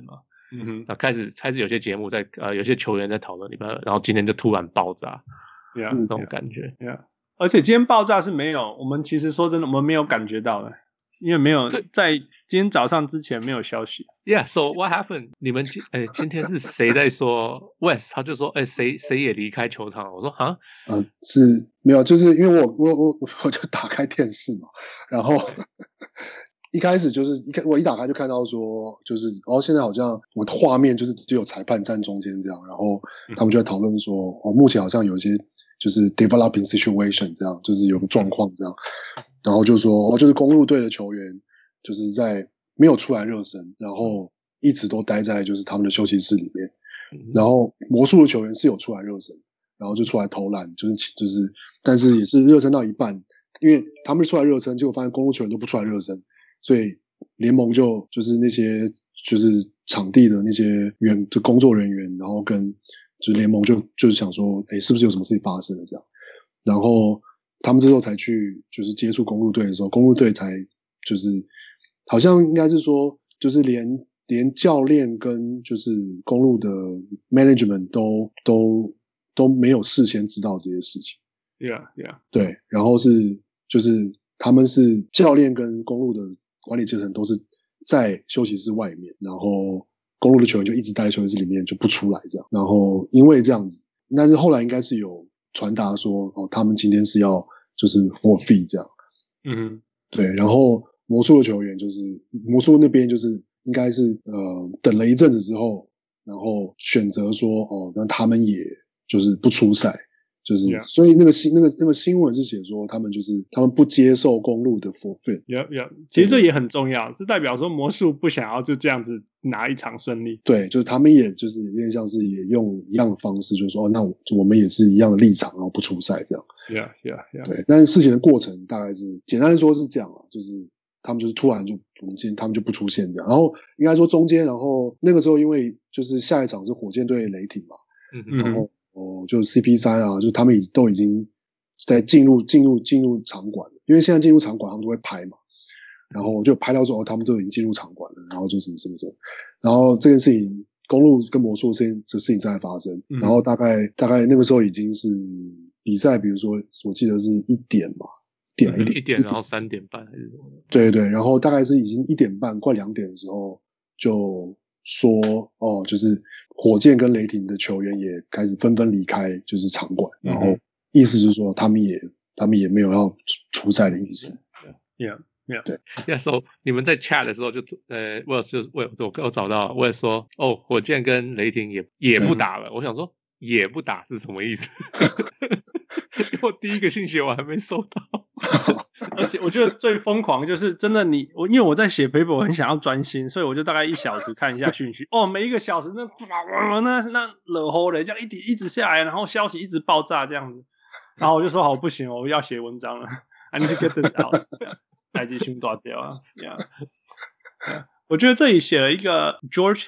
那開始有些節目在有些球員在討論裡面，然後今天就突然爆炸，那種感覺。 而且今天爆炸是沒有，我們其實說真的，我們沒有感覺到的。因為沒有在今天早上之前沒有消息。 Yeah, so what happened? 你們今天是誰在說 West？ 他就說誰也離開球場了。我說啊， 是沒有，就是因為我就打開電視嘛，然後一開始就是我一打開就看到說，就是現在好像我的畫面就是只有裁判站中間這樣，然後他們就在討論說，目前好像有一些就是 developing situation 這樣，就是有個狀況這樣。然後就說就是公鹿隊的球員就是在沒有出來熱身，然後一直都待在就是他們的休息室裡面。然後魔術的球員是有出來熱身，然後就出來投籃，就是但是也是熱身到一半，因為他們出來熱身，結果發現公鹿球員都不出来热身，所以聯盟就是那些就是場地的那些就工作人員，然後跟就是聯盟就是想說，是不是有什麼事情發生了這樣，然後他們之後才去就是接觸公鹿隊的時候，公鹿隊才就是好像應該是說就是连教練跟就是公鹿的 management 都沒有事先知道這些事情。 Yeah. 對，然後就是他們是教練跟公鹿的管理階層都是在休息室外面，然后公鹿的球员就一直待在休息室裡面就不出來這樣，然後因為這樣子，但是後來應該是有傳達說他們今天是要就是 forfeit 這樣，對，然後魔術的球員就是魔術那邊就是應該是等了一陣子之後，然後選擇說那他們也就是不出賽，就是 Yeah. 所以那個新聞是寫說他們不接受公鹿的 forfeit。 其實這也很重要，是代表說魔術不想要就這樣子拿一場勝利。 對，就是他們也就是有點像是也用一樣的方式，就是說那我們也是一樣的立場，然後不出賽這樣。 Yeah. 對，但是事情的過程大概是簡單的說是這樣啊，就是他們就是突然他們就不出現這樣，然後應該說中間，然後那個時候因為就是下一场是火箭對雷霆嘛，然後就 CP3 啊，就他們都已經在進入場馆了，因為现在進入場馆他們都會拍嘛，然後就拍到說他們都已經進入场館了，然後就什麼，然後這件事情公鹿跟魔術這事情正在發生，然後大概那個時候已經是比賽，比如說我記得是1點嘛。1點， 然後3點半還是什麼的？ 對，然後大概是已經1點半快2點的時候，就說就是火箭跟雷霆的球員也開始紛紛離開就是場館，然後意思就是說他們也沒有要出賽的意思。 Yeah. 對。So 你們在 chat 的時候就我找到我也說火箭跟雷霆也不打了，我想說也不打是什麼意思？我第一個信息我還沒收到。 而且我覺得最瘋狂就是真的因為我在寫 paper 我很想要專心，所以我就大概1小時看一下訊息。每一個小時那惹吼的這樣一直下來，然後消息一直爆炸這樣子，然後我就說好不行，我要寫文章了 ，I need to get this out， 來繼續斷掉啊。我覺得這裡寫了一個 George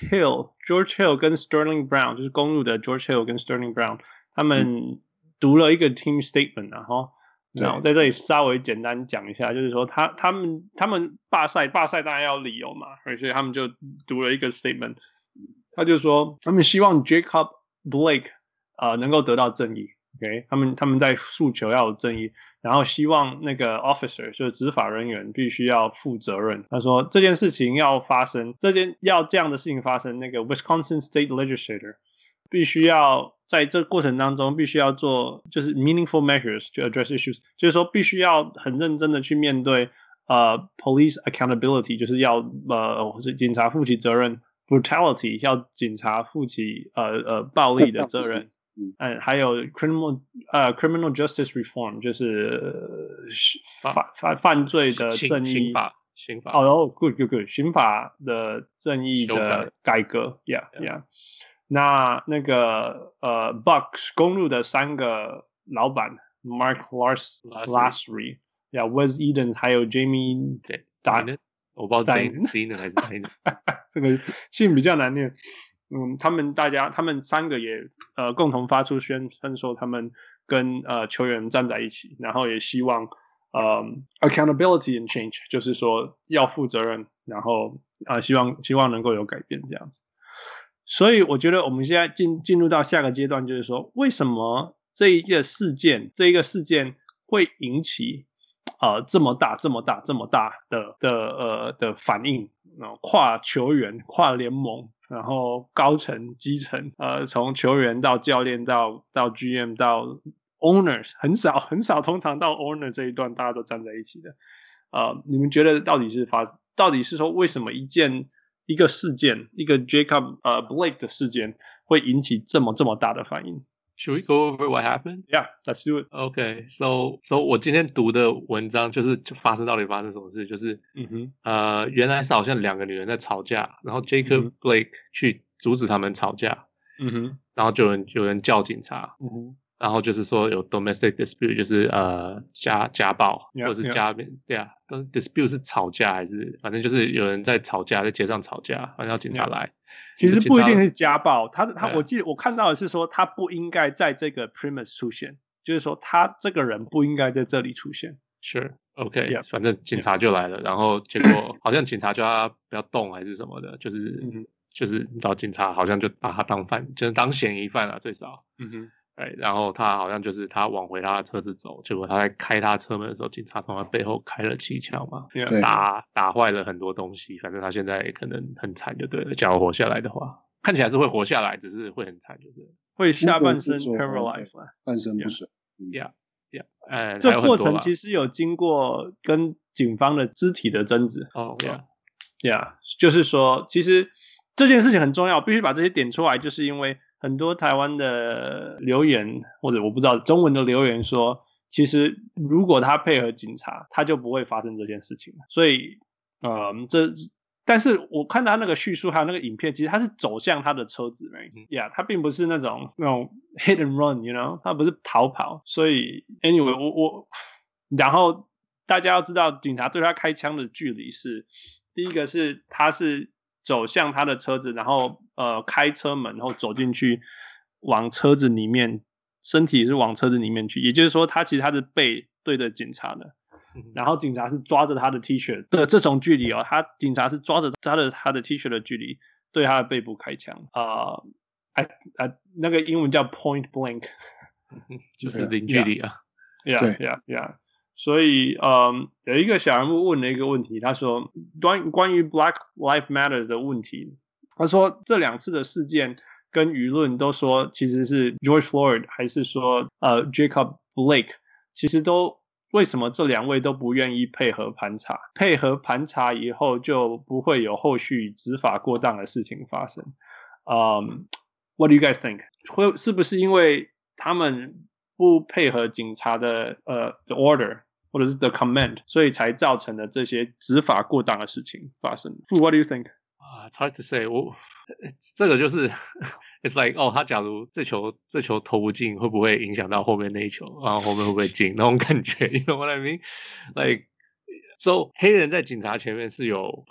Hill 跟 Sterling Brown， 就是公鹿的 George Hill 跟 Sterling Brown， 他們讀了一個 team statement， 然後在這裡稍微簡單講一下，就是說他們罷賽當然要理由嘛，所以他們就讀了一個 statement， 他就說他們希望 Jacob Blake 能夠得到正義。Okay? 他們在訴求要有正義，然後希望那個 officer 就是執法人員必須要負責任。他說這件事情要發生，要這樣的事情發生，那個 Wisconsin State Legislator 必須要在這過程當中必須要做就是 meaningful measures to address issues， 就是說必須要很認真的去面對police accountability， 就是要警察負起責任 ，brutality 要警察負起暴力的責任。還有 criminal justice reform， 就是犯罪的正義刑法 good， 刑法的正義的改革 yeah。那個Bucks 公鹿的3個老闆 Mark Lasry Wes Eden 還有 Jamie Dimon， 我不知道 Dimon 還是 Dimon 這個姓比較難念。他們3個也共同發出宣說他們跟球員站在一起，然後也希望accountability and change， 就是說要負責任，然後希望能夠有改變這樣子。 所以我覺得我們現在進入到下個階段，就是說為什麼這一個事件會引起這麼大的反應，跨球員、跨聯盟，然後高層、基層，從球員到教練到 GM 到 owners， 很少，通常到 owner 這一段大家都站在一起的。你們覺得到底是說為什麼一個事件，一個 Jacob Blake 的事件會引起這麼大的反應 ？Should we go over what happened? Yeah, let's do it. Okay, so 我今天讀的文章就发生什麼事，就是原來是好像2個女人在吵架，然後 Jacob Blake 去阻止他們吵架，然後就有人叫警察，然後就是說有 domestic dispute， 就是家暴，或者是对啊 ，dispute 是吵架還是反正就是有人在吵架，在街上吵架，反正要警察來。 其實不一定是家暴，我記得我看到的是說他不應該在這個 premise 出現，就是說他這個人不應該在這裡出現。 Sure, OK， 反正警察就來了，然後結果好像警察叫他不要動還是什麼的，就是到警察好像就把他就是當嫌疑犯了最少。然後他好像就是他往回他的車子走，結果他在開他車門的時候，警察從他背後開了7槍嘛，打壞了很多東西，反正他現在可能很慘就對了，假如活下來的話，看起來是會活下來，只是会很慘就对了， 會下半身 paralyzed， 半身不遂。 這過程其實有經過跟警方的肢體的爭執。就是說其實這件事情很重要，必須把這些點出來，就是因為很多台灣的留言，或者我不知道中文的留言說，其實如果他配合警察，他就不會發生這件事情。所以但是我看他那個敘述還有那個影片，其實他是走向他的車子他並不是那種 hit and run， you know， 他不是逃跑。所以 anyway， 然後大家要知道警察對他開槍的距離是，第一個是他是走向他的車子，然後開車門，然後走進去，往車子裡面，身體是往車子裡面去，也就是說他其實他的背對着警察的，然後警察是抓着他的 T 恤的這種距離警察是抓着他的 T 恤的距離對他的背部開槍那個英文叫 point blank， 就是零距離啊。 Yeah。所以有一個小人物問了一個問題，他說關於 Black Lives Matter 的問題，他說這2次的事件跟輿論都說其實是 George Floyd 還是說Jacob Blake， 其實都為什麼這2位都不願意配合盤查以後就不會有後續執法過當的事情發生。What do you guys think？ 是不是因為他們不配合警察的the order 或者是 the command， 所以才造成了這些執法過當的事情發生。What do you think? It's hard to say。這個就是，it's like 他假如這球投不進，會不會影響到後面那一球？然後後面會不會進？那種感覺 ，you know what I mean？ Like so， 黑人在警察前面是有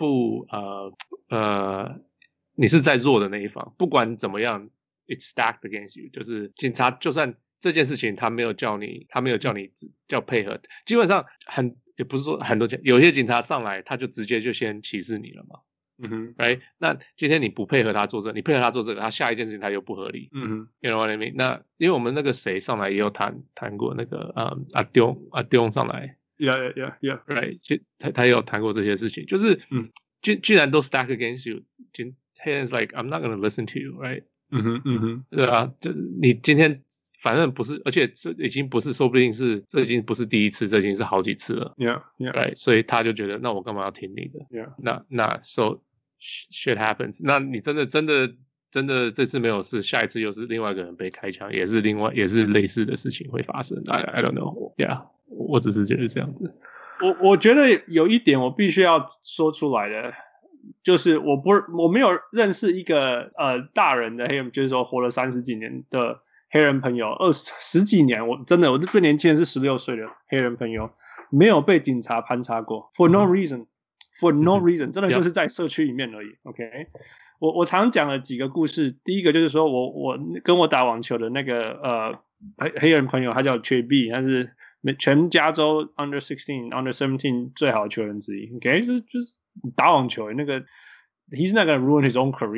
你是在弱的那一方，不管怎麼樣 ，it's stacked against you。就是警察就算這件事情他沒有叫你叫配合，基本上也不是說很多有些警察上來他就直接就先歧視你了嘛。right？ 那今天你不配合他做你配合他做这個，他下一件事情他又不合理。you know what I mean？ 那因為我們那個誰上來也有談過那個阿丟上來 ，right？ 他也有談過這些事情，就是既然都 stack against you， 黑人 is like I'm not gonna listen to you，right？ 对啊，就你今天反正不是，而且這已經不是，說不定是這已經不是第一次，這已經是好幾次了。right？ 所以他就覺得，那我幹嘛要聽你的？那 so shit happens。那你真的這次沒有事，下一次又是另外一個人被開槍，也是類似的事情會發生。I don't know。我只是覺得這樣子。 我覺得有一點我必須要說出來的，就是我沒有認識一個大人的黑人，就是說活了30幾年的黑人朋友，10幾年，我最年輕的是16歲的黑人朋友，沒有被警察盤查過 ，for no reason，真的就是在社區裡面而已。OK， 我常講了幾個故事，第一個就是說我跟我打網球的那個黑人朋友，他叫 Trey， 他是全加州 under 16、under 17最好的球員之一。OK， 就是打網球那個 ，he's not gonna ruin his own career。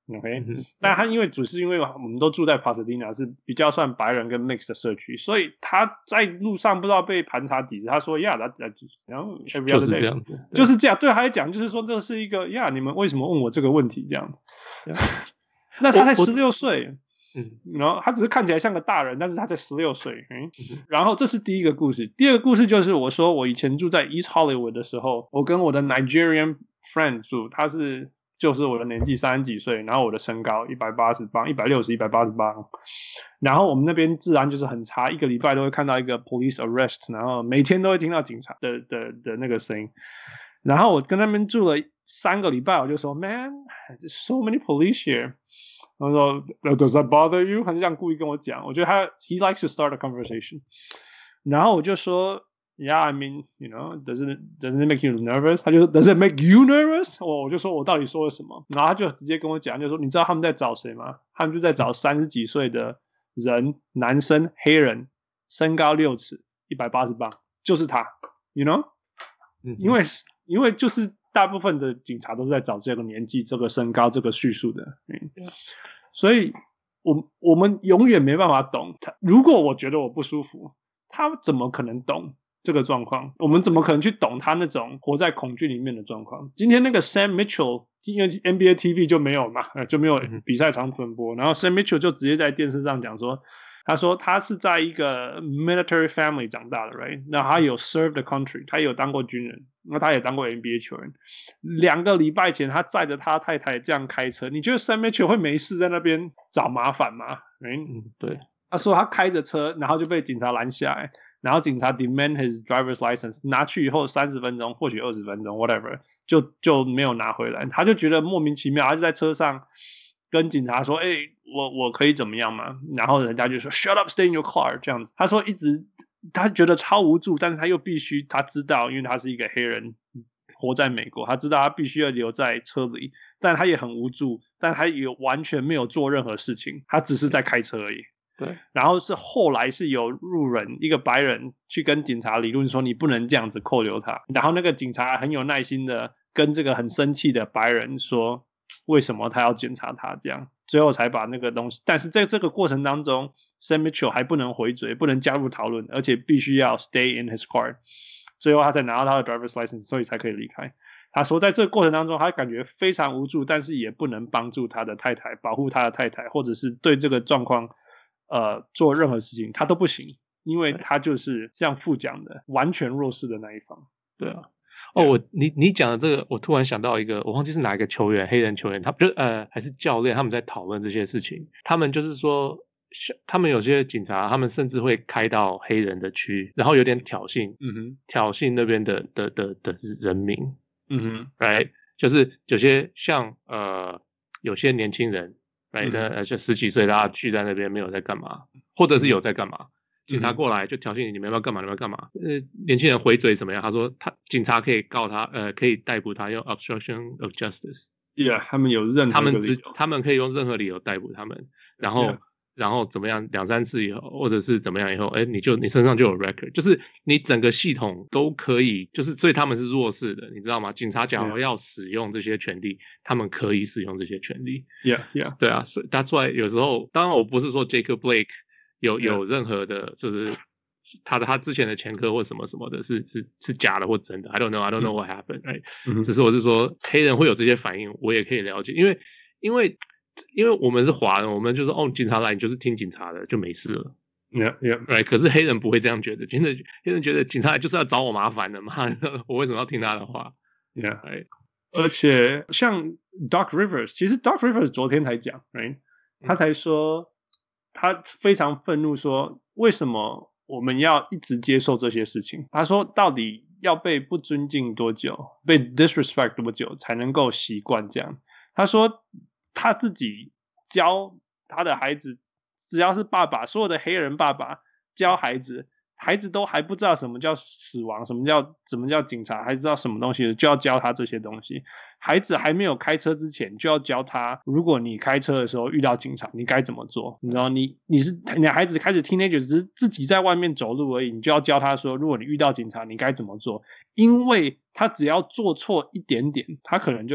OK，但他因為我們都住在 Pasadena 是比較算白人跟 mix 的社區，所以他在路上不知道被盤查幾次。他說：“Yeah， 然後就是這樣子， 就是這樣。”對，他還講就是說這是一個你們為什麼問我這個問題這樣？那他才16歲，然後他只是看起來像個大人，但是他才16歲。然後這是第一個故事，第二個故事就是我說我以前住在 East Hollywood 的時候，我跟我的 Nigerian friend 住，他就是我的年紀30幾歲，然後我的身高180磅，160、180磅，然後我們那邊治安就是很差，一個禮拜都會看到一個 police arrest， 然後每天都會聽到警察的那個聲音。然後我跟他們住了3個禮拜，我就說 Man, there's so many police here。他說 Does that bother you？ 他就這樣故意跟我講，我覺得he likes to start a conversation。然後我就說Yeah, I mean, doesn't it make you nervous? 他就說 Does it make you nervous? 我就說我到底說了什麼？然後他就直接跟我講，就說你知道他們在找誰嗎？他們就在找30幾歲的人，男生，黑人，身高6尺，180磅，就是他 ，you know？ 因為就是大部分的警察都是在找這個年紀、這個身高、這個敘述的，所以我們永遠沒辦法懂他。如果我覺得我不舒服，他怎麼可能懂這個狀況？我們怎麼可能去懂他那種活在恐懼裡面的狀況？今天那個 Sam Mitchell， 因為 NBA TV 就沒有嘛，就沒有比賽場轉播，然後 Sam Mitchell 就直接在電視上講說，他說他是在一個 military family 長大的 ，right？ 那他有 serve the country， 他有當過軍人，那他也當過 NBA 球員。2個禮拜前，他載着他太太這樣開車，你覺得 Sam Mitchell 會沒事在那邊找麻煩嗎？ 對。 他說他開着車，然後就被警察攔下來。然後警察 demand his driver's license， 拿去以後30分鐘，或許20分鐘 ，whatever， 就沒有拿回來。他就覺得莫名其妙，他就在車上跟警察說：“我可以怎麼樣嗎？”然後人家就說 ：“Shut up, stay in your car。”這樣子。他說他覺得超無助，但是他又必須，他知道，因為他是一個黑人，活在美國，他知道他必須要留在車裡，但他也很無助，但他也完全沒有做任何事情，他只是在開車而已。 對， 然後後來是有路人，一個白人去跟警察理論說你不能這樣子扣留他，然後那個警察很有耐心的跟這個很生氣的白人說為什麼他要檢查他這樣，最後才把那個東西，但是在這個過程當中 Sam Mitchell 還不能回嘴，不能加入討論，而且必須要 stay in his car， 最後他才拿到他的 driver's license， 所以才可以離開。他說在这個過程當中他感覺非常無助，但是也不能幫助他的太太，保護他的太太，或者是對這個狀況做任何事情他都不行，因為他就是像父講的完全弱勢的那一方。 對啊，你講的這個，我突然想到一個，我忘記是哪一個球員，黑人球員，他就還是教練，他們在討論這些事情。他們就是說，他們有些警察，他們甚至會開到黑人的區，然後有點挑釁，挑釁那邊的人民，right， 就是有些像有些年輕人。就10幾歲，大家聚在那邊沒有在幹嘛，或者是有在幹嘛，警察過來就挑釁你們要不要幹嘛，你們要幹嘛？年輕人回嘴怎麼樣？他說警察可以告他，可以逮捕他，用 obstruction of justice。Yeah， 他們有任何理由，他們可以用任何理由逮捕他們，然後怎麼樣2、3次以後，或者是怎麼樣以後，你身上就有 record， 就是你整個系統都可以，就是所以他們是弱勢的，你知道嗎？警察假如要使用這些權利，他們可以使用這些權利。 Yeah， 對啊，所以that's why有時候，當然我不是說 Jacob Blake 有任何的，就是他之前的前科或什麼什麼的是假的或真的 ，I don't know what happened， right？只是我是說黑人会有這些反應，我也可以了解，因為我們是華人，我們就是警察來你就是聽警察的就沒事了。right， 可是黑人不會這樣覺得，黑人覺得警察來就是要找我麻煩的嘛，我為什麼要聽他的話？ right， 而且像 Doc Rivers， 其實 Doc Rivers 昨天才講 right， 他才說他非常憤怒說為什麼我們要一直接受這些事情，他說到底要被不尊敬多久，被 disrespect 多久才能夠習慣這樣。他說他自己教他的孩子，只要是爸爸，所有的黑人爸爸教孩子，孩子都還不知道什麼叫死亡，什么叫警察，還知道什麼東西就要教他這些東西。孩子還沒有開車之前就要教他，如果你開車的時候遇到警察你該怎麼做。你知道你的孩子開始 teenager 只是自己在外面走路而已，你就要教他說如果你遇到警察你該怎麼做，因為他只要做錯一點點他可能就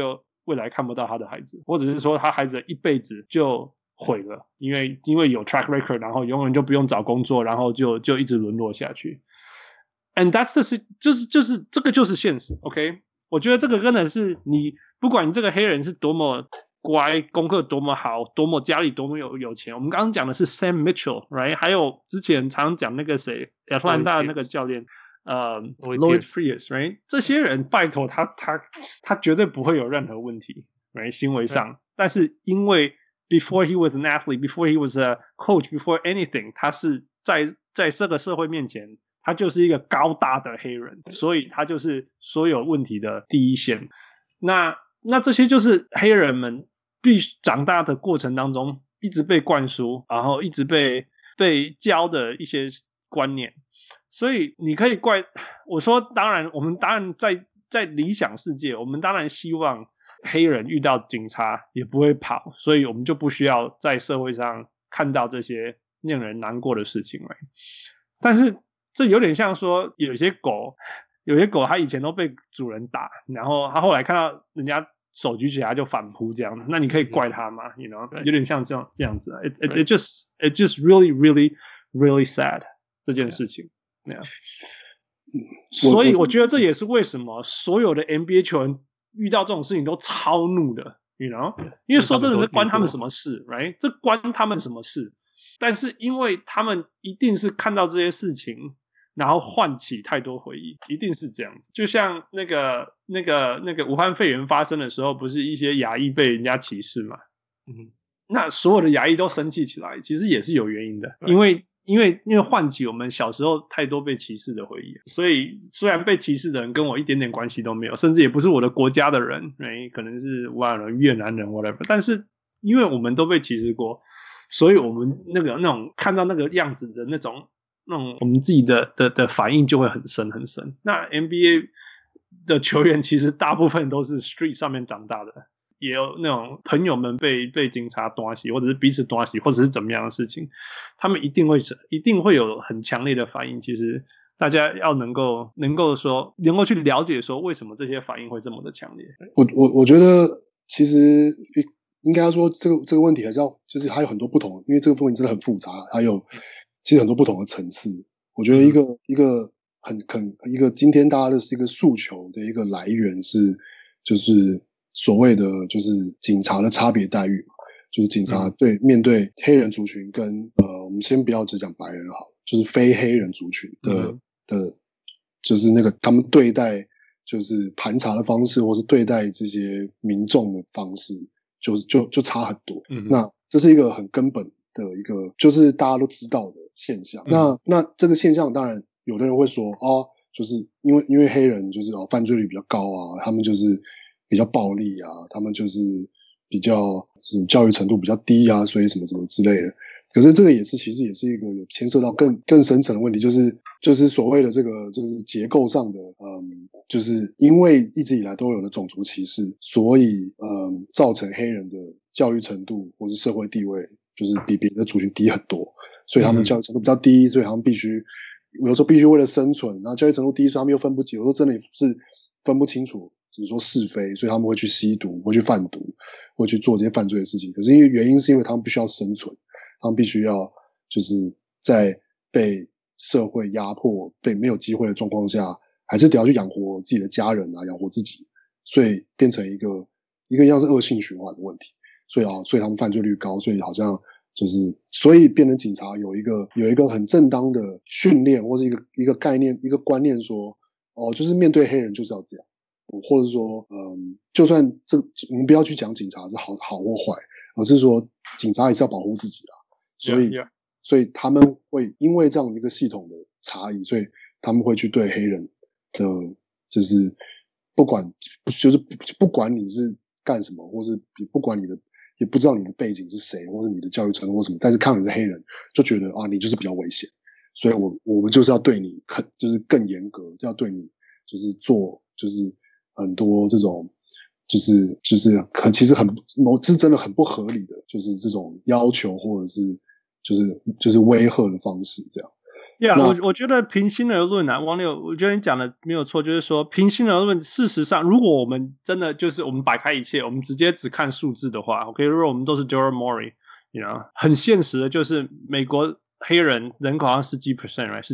未來看不到他的孩子，或者是說他孩子一輩子就毀了，因為有 track record， 然後永遠就不用找工作，然後就一直淪落下去。And that's就是这個就是現實 ，OK？ 我覺得這個真的是你，不管你這個黑人是多麼乖，功課多麼好，多麼家裡多麼有錢。我們剛剛講的是 Sam Mitchell，right？ 還有之前常講那個誰，亞特蘭大的那個教練，Lloyd Frears，right？ 這些人拜託他絕對不會有任何問題 ，right？ 行為上，但是因為 before he was an athlete, before he was a coach, before anything， 他是在這個社會面前，他就是一個高大的黑人，所以他就是所有問題的第一線。那這些就是黑人們必須長大的過程當中一直被灌輸，然後一直被教的一些觀念。所以你可以怪我說，我們當然在理想世界，我們當然希望黑人遇到警察也不會跑，所以我們就不需要在社會上看到這些令人難過的事情了。但是這有點像說，有些狗它以前都被主人打，然後它後來看到人家手舉起來就反撲這樣，那你可以怪它嗎？ You know， 有點像這樣子。It just really really really sad 這件事情。所以我覺得這也是為什麼所有的 NBA 球員遇到這種事情都超怒的 ，you know， 因為說真的，這關他們什麼事 ，right？ 這關他們什麼事？但是因為他們一定是看到這些事情，然後喚起太多回憶，一定是這樣子。就像那個武漢肺炎發生的時候，不是一些亞裔被人家歧視嘛？那所有的亞裔都生氣起來，其實也是有原因的，因為喚起我們小時候太多被歧視的回憶，所以雖然被歧視的人跟我一點點關係都沒有，甚至也不是我的國家的人，可能是越南人 whatever， 但是因為我們都被歧視過，所以我們那種看到那個樣子的那種我們自己的反應就會很深很深。那 NBA 的球員其實大部分都是 street 上面長大的，也有那種朋友們被警察抓起，或者是彼此抓起，或者是怎麼樣的事情，他們一定會有很強烈的反應。其實大家要能夠去了解說為什麼這些反應會這麼的強烈。 我覺得其實應該說這個問題還是要就是還有很多不同，因為這個問題真的很複雜，還有其實很多不同的層次。我覺得一個今天大家的是一個訴求的一個來源是就是所謂的就是警察的差別待遇嘛，就是警察面對黑人族群跟我們先不要只講白人好，就是非黑人族群的就是那個他們對待就是盤查的方式，或是對待這些民眾的方式，就差很多。那這是一個很根本的一個，就是大家都知道的現象。那這個現象，當然有的人會說就是因為黑人就是犯罪率比較高啊，他們就是比較暴力啊，他們就是比較教育程度比較低啊，所以什麼什麼之類的。可是這個其實也是一個有牽涉到更深層的問題，就是所謂的這個就是結構上的就是因為一直以来都有的種族歧视，所以造成黑人的教育程度或是社會地位就是比別的族群低很多，所以他們教育程度比較低，所以他們有的時候必須為了生存，然後教育程度低，所以他們又分不清，有時候真的是分不清楚只是說是非，所以他們會去吸毒，会去贩毒，会去做这些犯罪的事情。可是原因是因为他们必須要生存，他们必須要就是在被社會壓迫、被沒有機會的狀況下，還是得要去養活自己的家人啊，養活自己，所以變成一個像是惡性循環的問題。所以他們犯罪率高，所以好像就是所以變成警察有一個很正當的訓練，或是一個概念、一個觀念說，就是面對黑人就是要這樣。或者說，就算我們不要去講警察是好或壞，而是說警察也是要保護自己啊。所以他們會因為這樣一個系統的差異，所以他們會去對黑人的，就是不管你是幹什麼，或是不管你的，也不知道你的背景是誰，或是你的教育程度或什麼，但是看到你是黑人，就覺得你就是比較危險，所以我們就是要對你就是更嚴格，要對你就是做就是。很多這種就是其實是真的很不合理的，就是這種要求或者是就是威嚇的方式這樣。 我覺得平心而論啊，王柳，我覺得你講的沒有錯，就是說平心而論，事實上，如果我們真的就是我們擺開一切，我們直接只看數字的話 ，OK， 如果我們都是 Daryl Morey，you know， 很現實的就是美國黑人人口好像10%， right，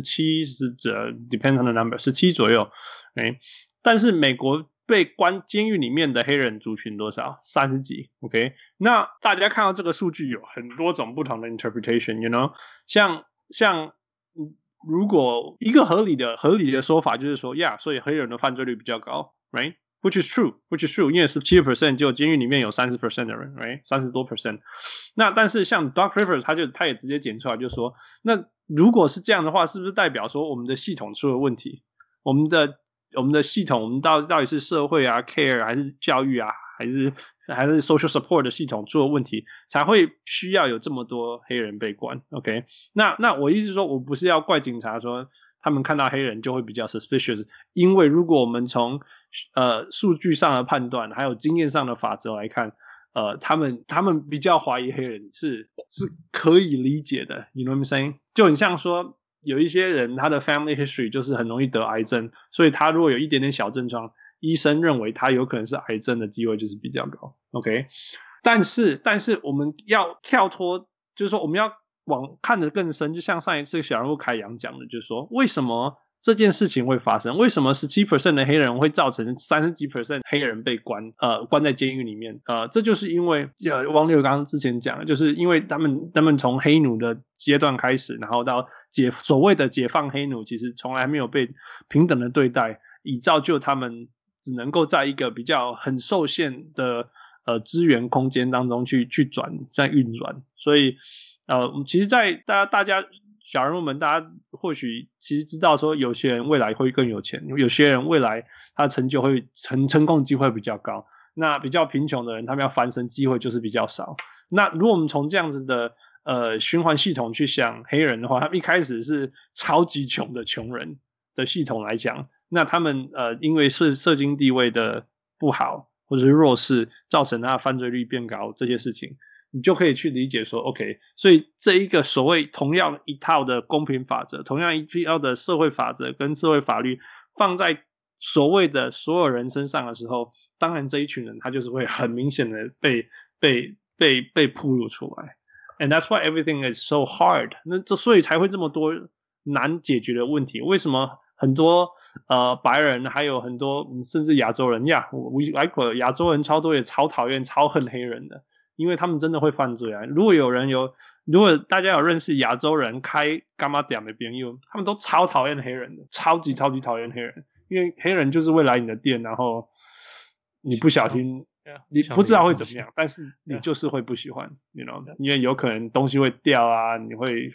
17depends on the number， 17左右，欸，但是美國被關監獄裡面的黑人族群多少？30幾 ，OK， 那大家看到這個數據有很多種不同的 interpretation，you know， 像如果一個合理的說法就是說所以黑人的犯罪率比較高 ，right？ Which is true， 因為 17% 就監獄裡面有 30% 的人 ，right？ 30多%。那但是像 Doc Rivers 他也直接剪出來就說，那如果是這樣的話，是不是代表說我們的系統出了問題？我们的系統，我們到底是社會啊 care 還是教育啊，還是 social support 的系統出了問題，才會需要有這麼多黑人被關 ？OK？ 那我意思是說，我不是要怪警察說他們看到黑人就會比較 suspicious， 因為如果我們從數據上的判斷，還有經驗上的法則來看，他們比較懷疑黑人是可以理解的 ，you know what I'm saying？ 就很像說。有一些人他的 family history 就是很容易得癌症，所以他如果有一點點小症狀，醫生認為他有可能是癌症的機會就是比較高 ，OK？ 但是我們要跳脫，就是說我們要往看得更深，就像上一次小人物凱陽講的，就是說為什麼這件事情會發生？為什麼 17% 的黑人會造成30幾%黑人被關在監獄裡面？這就是因為王柳剛剛之前講的，就是因為他們從黑奴的階段開始，然後到所謂的解放黑奴，其實從來沒有被平等的對待，以造就他們只能夠在一個比較很受限的資源空間當中去在運轉，所以其實在大家小人物們，大家或許其實知道說，有些人未來會更有錢，有些人未来他的成就會成功機會比較高。那比較貧窮的人，他們要翻身機會就是比較少。那如果我們從這樣子的循環系統去想黑人的話，他們一開始是超級窮的窮人的系統來講，那他們因為是社經地位的不好或者是弱勢，造成他的犯罪率變高這些事情。你就可以去理解說 OK， 所以這一個所謂同樣一套的公平法則，同樣一套的社會法則跟社會法律放在所謂的所有人身上的時候，當然這一群人他就是會很明顯的被暴露出來。And that's why everything is so hard。所以才會這麼多難解決的問題。為什麼很多白人還有很多甚至亞洲人亞洲人超多也超討厭超恨黑人的。因為他們真的會犯罪啊！如果大家有認識亞洲人開柑仔店的朋友，他們都超討厭黑人的，超級討厭黑人，因為黑人就是會來你的店，然後你不小心，你不知道會怎麼樣，但是你就是會不喜歡 ，you know， 因為有可能東西會掉啊，你會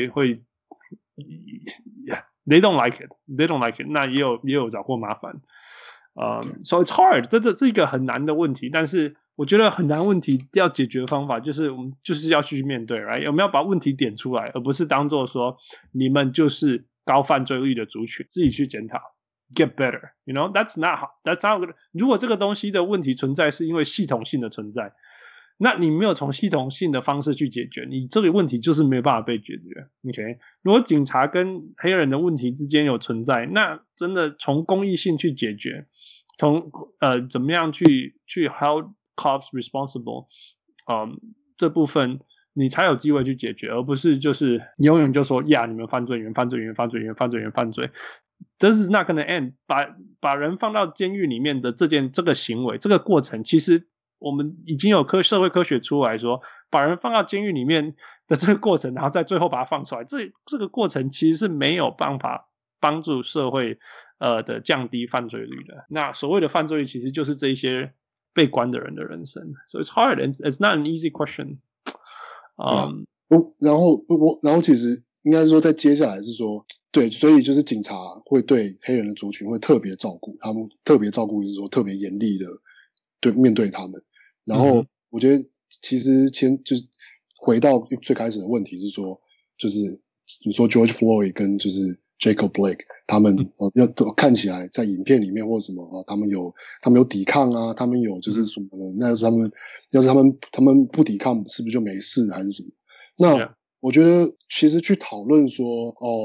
，they don't like it， 那也有找過麻煩，so it's hard， 這是一個很難的問題，但是。我覺得很難問題要解決的方法就是我們就是要去面對 right？ 我們要把問題點出來，而不是當作說你們就是高犯罪率的族群，自己去檢討 get better， you know that's not good。 如果這個東西的問題存在是因為系統性的存在，那你沒有從系統性的方式去解決，你這個問題就是沒有辦法被解決 OK？ 如果警察跟黑人的問題之間有存在，那真的從公益性去解決，從怎麼樣去 help cops responsible， 這部分你才有機會去解決，而不是就是永遠就說呀，你們犯罪。This is not gonna end。把人放到監獄裡面的這個行為，這個過程，其實我們已經有社會科學出來說，把人放到監獄裡面的這個過程，然後在最後把它放出來，這個過程其實是沒有辦法幫助社會的降低犯罪率的。那所謂的犯罪率，其實就是這一些被關的人的人生 ，so it's hard, it's not an easy question。 然後其實應該說，在接下來是說，對，所以就是警察會對黑人的族群會特別照顧，他們特別照顧是說特別嚴厲的面對他們。然後我覺得其實就是回到最開始的問題是說，就是你說 George Floyd 跟就是。Jacob Blake 他們看起來在影片裡面或什麼他們有抵抗啊，他們有就是什麼的，那要是他們不抵抗是不是就沒事還是什麼？那我覺得其實去討論說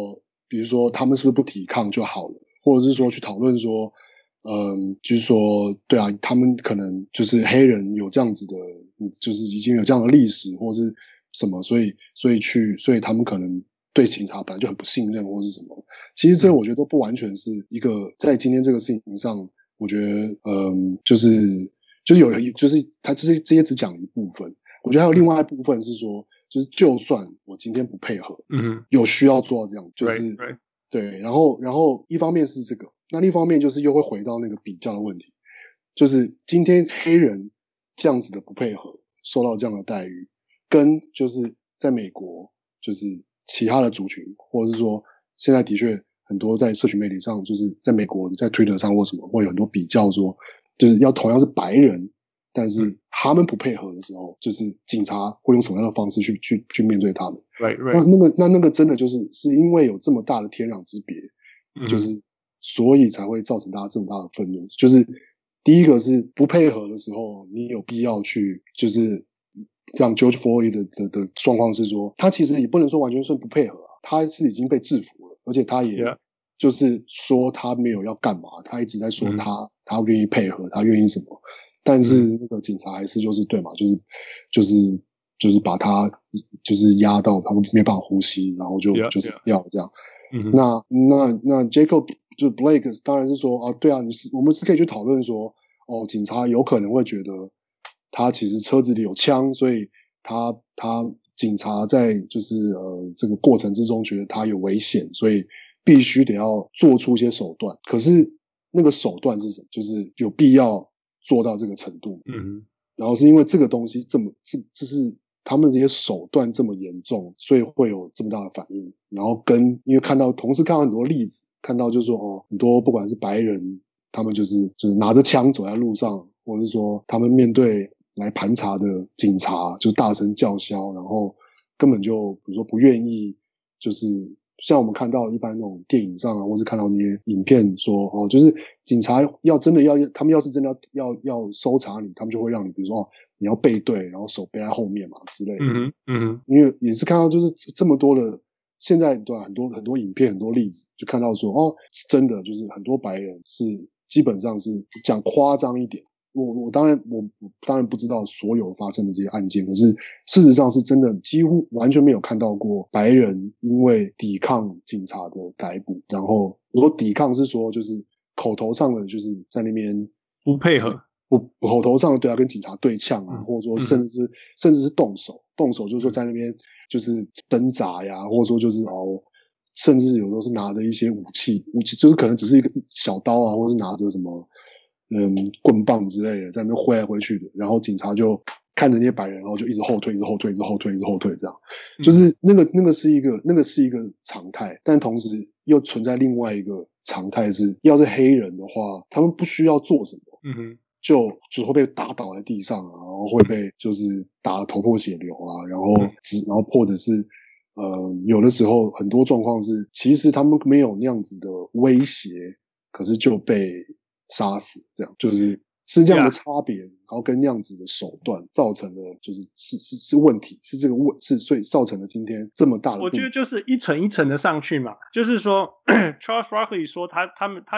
比如說他們是不是不抵抗就好了，或者是說去討論說，就是說，對啊，他們可能就是黑人有這樣子的，就是已經有這樣的歷史或是什麼，所以他們可能對警察本來就很不信任或是什麼。其實這我覺得都不完全是一個在今天這個事情上，我覺得就是他这些只講一部分，我覺得還有另外一部分是說，就是就算我今天不配合，有需要做到這樣，就是 right. 對，然後一方面是這個，那另一方面就是又會回到那個比較的問題，就是今天黑人這樣子的不配合，受到這樣的待遇，跟就是在美國就是其他的族群，或者是說現在的確很多在社群媒體上，就是在美國在 Twitter 上或什麼，會有很多比較說，就是要同樣是白人，但是他們不配合的時候，就是警察會用什麼樣的方式去面對他們？ Right. 那個真的就是因為有這麼大的天壤之別，就是所以才會造成大家這麼大的憤怒。就是第一個是不配合的時候，你有必要去就是像 George Floyd 的狀況是說，他其實也不能說完全是不配合啊，他是已經被制服了，而且他也就是說他沒有要幹嘛，他一直在說他願意配合，他願意什麼。但是那個警察還是就是对嘛，就是把他就是壓到他沒辦法呼吸，然後就死掉這樣。那 Jacob 就 Blake 當然是說啊，對啊，我們是可以去討論說，哦，警察有可能會覺得他其實車子裡有槍，所以他警察在就是這個過程之中覺得他有危險，所以必須得要做出一些手段。可是那個手段是什麼？就是有必要做到這個程度，然後是因為這個東西就是他們這些手段這麼嚴重，所以會有這麼大的反應。然後因為同時看到很多例子，看到就是說很多不管是白人，他們就是拿着槍走在路上，或者是說他們面對來盤查的警察就大聲叫囂，然後根本就比如說不願意就是。像我們看到一般那種電影上啊，或是看到那些影片說，哦，就是警察他們要是真的要搜查你，他們就會讓你，比如說你要背對，然後手背在後面嘛之類的。因為也是看到就是這麼多的，現在對很多影片很多例子，就看到說，哦，真的就是很多白人是基本上是講誇張一點。我當然不知道所有發生的這些案件，可是事實上是真的幾乎完全沒有看到過白人因為抵抗警察的逮捕，然後我說抵抗是說就是口頭上的就是在那邊不配合， 口頭上的對啊跟警察對嗆啊，或者說甚至是動手就是說在那邊就是掙扎呀，或者說就是甚至有時候是拿着一些武器就是可能只是一個小刀啊，或是拿着什麼棍棒之類的在那邊揮來揮去的，然後警察就看着那些白人，然後就一直後退這樣，就是那個是一個常態，但同時又存在另外一個常態是，要是黑人的話，他們不需要做什麼，就會被打倒在地上啊，然後會被就是打得頭破血流啊，然後或者是有的時候很多狀況是，其實他們沒有那樣子的威脅，可是就被殺死，這樣就是這樣的差別，然後跟那樣子的手段造成了是問題，是這個所以造成了今天這麼大的。 我覺得就是一层一層的上去嘛，就是說Charles Barkley 說他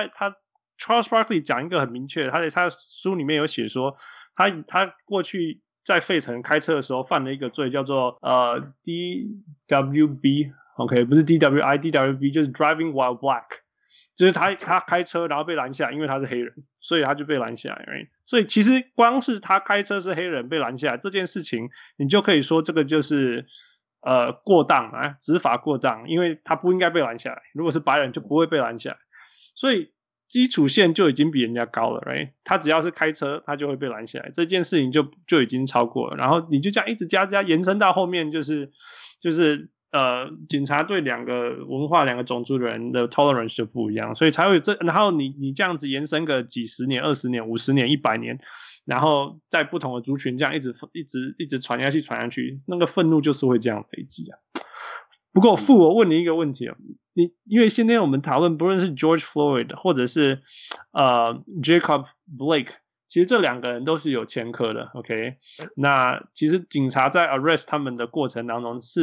Charles Barkley 講一個很明確的，他在他書裡面有寫說他過去在費城開車的時候犯了一個罪，叫做DWB， OK， 不是 DWI，DWB 就是 Driving While Black。就是他開車然後被攔下來，因為他是黑人，所以他就被攔下來 right？ 所以其實光是他開車是黑人被攔下來這件事情，你就可以說這個就是過當啊，執法過當，因為他不應該被攔下來，如果是白人就不會被攔下來，所以基礎線就已經比人家高了 right？ 他只要是開車他就會被攔下來，這件事情就已經超過了，然後你就這樣一直加延伸到後面就是警察對兩個文化、兩個種族的人的 tolerance 就不一樣，所以才會然後你這樣子延伸個幾十年、20年、50年、100年，然後在不同的族群這樣一直傳下去，那個憤怒就是會這樣累積啊。不過我問你一個問題啊，因為今天我們討論不論是 George Floyd 或者是Jacob Blake， 其實這兩個人都是有前科的 ，OK？ 那其實警察在 arrest 他們的過程當中是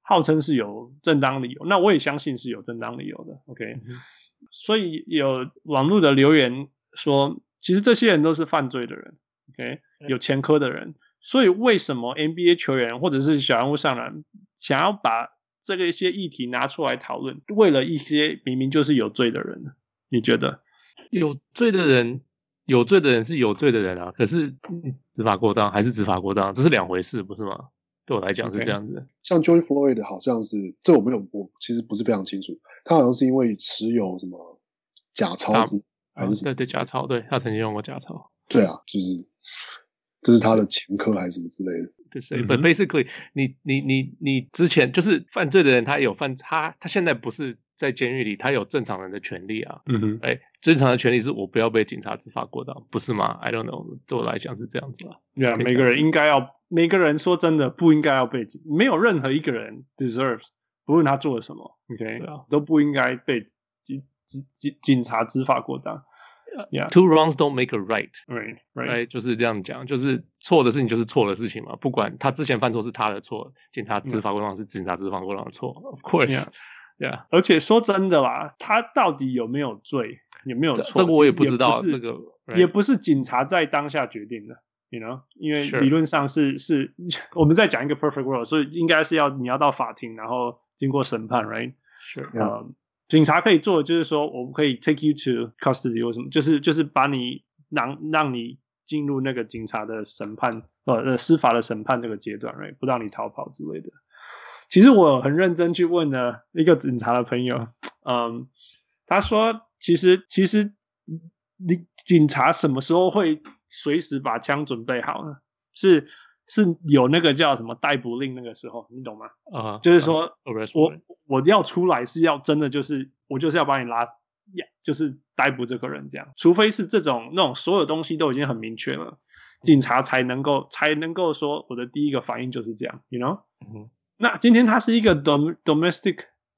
號稱是有正當理由，那我也相信是有正當理由的 ，OK，所以有網絡的留言說，其實這些人都是犯罪的人 ，OK，有前科的人，所以為什麼 NBA 球員或者是小人物上籃想要把這個一些議題拿出來討論，為了一些明明就是有罪的人呢？你覺得有罪的人是有罪的人啊，可是執法過当還是執法過當，這是兩回事，不是嗎？對我來講是這樣子。Okay. 像 George Floyd 好像是，這我其實不是非常清楚，他好像是因為持有什麼假鈔還是什麼？ 對假鈔，对，他曾經用過假鈔。 对啊，就是這是他的前科還是什麼之類的。 对，but basically 你之前就是犯罪的人，他現在不是在監獄裡，他有正常人的權利啊。正常的權利是我不要被警察執法過當，不是嗎 ？I don't know， 对我來講是這樣子啊。 Yeah， 每個人說真的不應該要被沒有任何一個人 deserves， 不論他做了什麼 ，OK，都不應該被警察執法過當。 Yeah. Two wrongs don't make a right. Right. 就是這樣講，就是錯的事情就是錯的事情嘛，不管他之前犯錯是他的錯，警察執法過當是警察執法過當的錯 ，Of course。Yeah. 而且說真的啦，他到底有沒有罪，有沒有錯， 這個我也不知道，這個也不是警察在當下決定的 ，you know， 因為理論上是我們在講一個 perfect world， 所以應該是你要到法庭，然後經過審判 ，right？ 是。 警察可以做的就是說，我们可以 take you to custody 或什麼，就是把你讓你進入那個警察的審判司法的審判這個階段 ，right？ 不讓你逃跑之類的。其實我很認真去問了一個警察的朋友，他說其實你警察什麼時候會隨時把槍準備好呢？是有那個叫什麼逮捕令那個時候，你懂嗎？就是說我要出來是要真的我就是要把你就是逮捕這個人這樣，除非是那種所有東西都已經很明確了，警察才能夠說我的第一個反應就是這樣 ，you know？那今天它是一個 domestic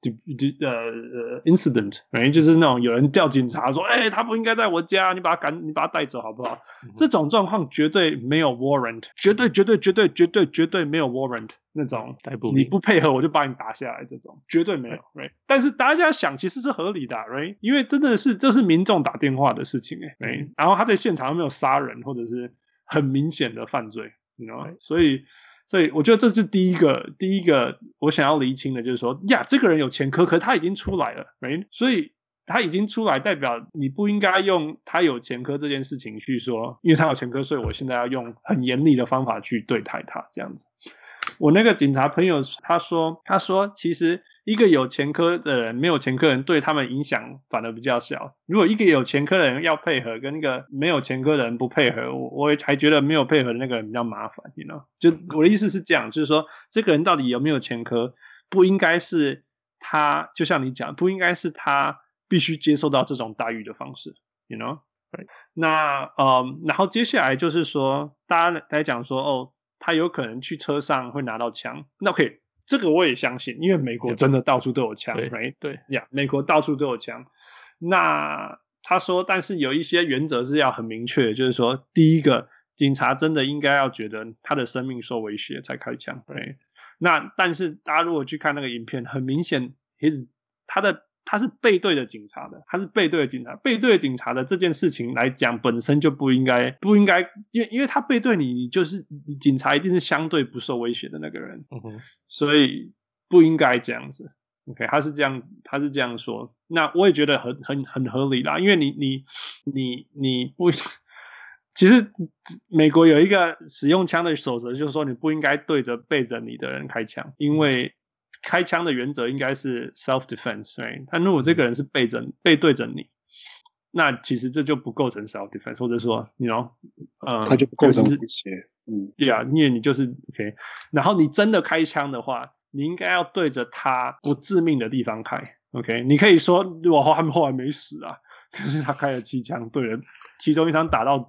incident， 就是那種有人叫警察說，他不應該在我家，你把他帶走好不好？這種狀況絕對沒有 warrant， 絕對沒有 warrant 那種，你不配合我就把你打下來，這種絕對沒有 ，right？ 但是大家想其實是合理的 ，right？ 因為真的是這是民眾打電話的事情，right？ 然後他在現場沒有殺人或者是很明顯的犯罪，你知道嗎？所以我覺得這是第一個我想要釐清的，就是說這個人有前科，可是他已經出來了，所以他已經出來，代表你不應該用他有前科這件事情去說，因為他有前科，所以我現在要用很嚴厲的方法去對待他，這樣子。我那個警察朋友他說其實一個有前科的人沒有前科的人對他們影響反而比較小，如果一個有前科的人要配合跟一個沒有前科的人不配合，我也還覺得沒有配合的那個人比較麻煩 you know？ 就我的意思是這樣，就是說這個人到底有沒有前科，不應該是他就像你講，不應該是他必須接受到這種待遇的方式 you know？ 那然後接下來就是說大家來講說他有可能去車上會拿到槍，那 OK， 這個我也相信，因為美國真的到處都有槍 right？ 對呀，美國到處都有槍。那他說但是有一些原則是要很明確的，就是說第一個警察真的應該要覺得他的生命受威脅才開槍 right？ 那但是大家如果去看那個影片，很明顯他是背對着警察的，背對着警察的這件事情來講本身就不應該，因為他背对你就是警察一定是相對不受威脅的那個人，所以不應該這樣子。OK， 他是这樣說，那我也覺得很合理啦，因為你不，其實美國有一個使用槍的守則，就是說你不應該對着背着你的人開槍，因為開槍的原則應該是 self-defense， right？ 但如果這個人是背對着你，那其實這就不構成 self-defense， 或者說 you know， 他就不構成威脅。 因為你就是 OK， 然後你真的開槍的話，你應該要對着他不致命的地方開 ，OK？ 你可以說他們後來沒死啊，可是他開了7槍，對人其中一槍打到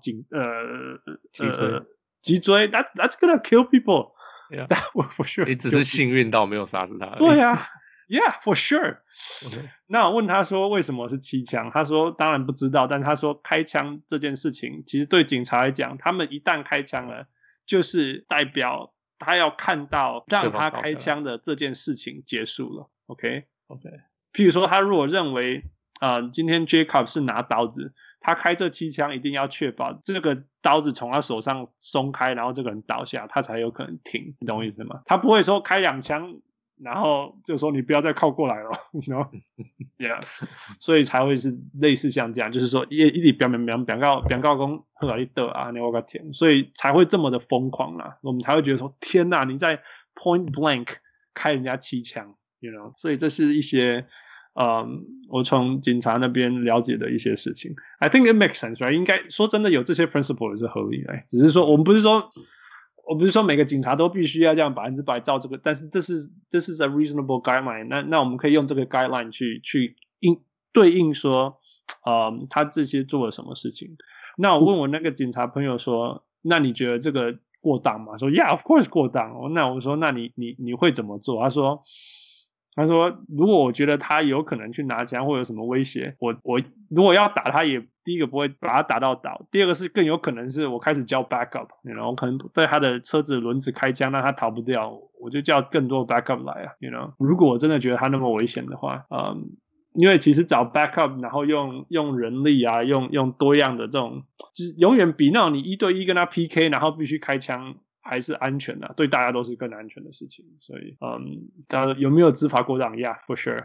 脊椎 ，that's gonna kill people。Yeah, for sure. 你只是幸運到沒有殺死他。 對啊 ，Yeah, for sure. Okay. 那我問他說為什麼是7槍？他說當然不知道，但他說開槍這件事情，其實對警察來講，他們一旦開槍了，就是代表他要看到讓他開槍的這件事情結束了。OK， 譬如說他如果認為今天 Jacob 是拿刀子，他開這7槍一定要確保這個刀子從他手上鬆開，然後這個人倒下，他才有可能停，你懂我意思嗎？他不會說開2槍，然後就說你不要再靠過來了，you know？Yeah， 所以才會是類似像這樣，就是說一直表告說好你倒啊，你我個天，所以才會這麼的瘋狂啦，我們才會覺得說天哪，你在 point blank 開人家7槍 ，you know？ 所以這是一些。我從警察那邊了解的一些事情 ，I think it makes sense, right？ 應該說真的有這些 principle 也是合理的，只是說我不是說每個警察都必須要這樣100%照這個，但是這是 a reasonable guideline。那我們可以用這個 guideline 去對應說，他這些做了什麼事情。那我問我那個警察朋友說，那你覺得這個過當嗎？說 Yeah, of course 過當。那我說，那你會怎麼做？他說，如果我覺得他有可能去拿槍或有什麼威脅，我如果要打他，也第一個不會把他打到倒，第二個是更有可能是我開始叫 backup， 然後我可能對他的車子輪子開槍，讓他逃不掉，我就叫更多 backup 來啊 ，you know？ 如果我真的覺得他那麼危險的話，因為其實找 backup， 然後用人力啊，用多樣的這種，就是永遠比那種你1對1跟他 PK， 然後必須開槍。還是安全的，對大家都是更安全的事情。所以，大家有沒有執法過當 ？Yeah, for sure。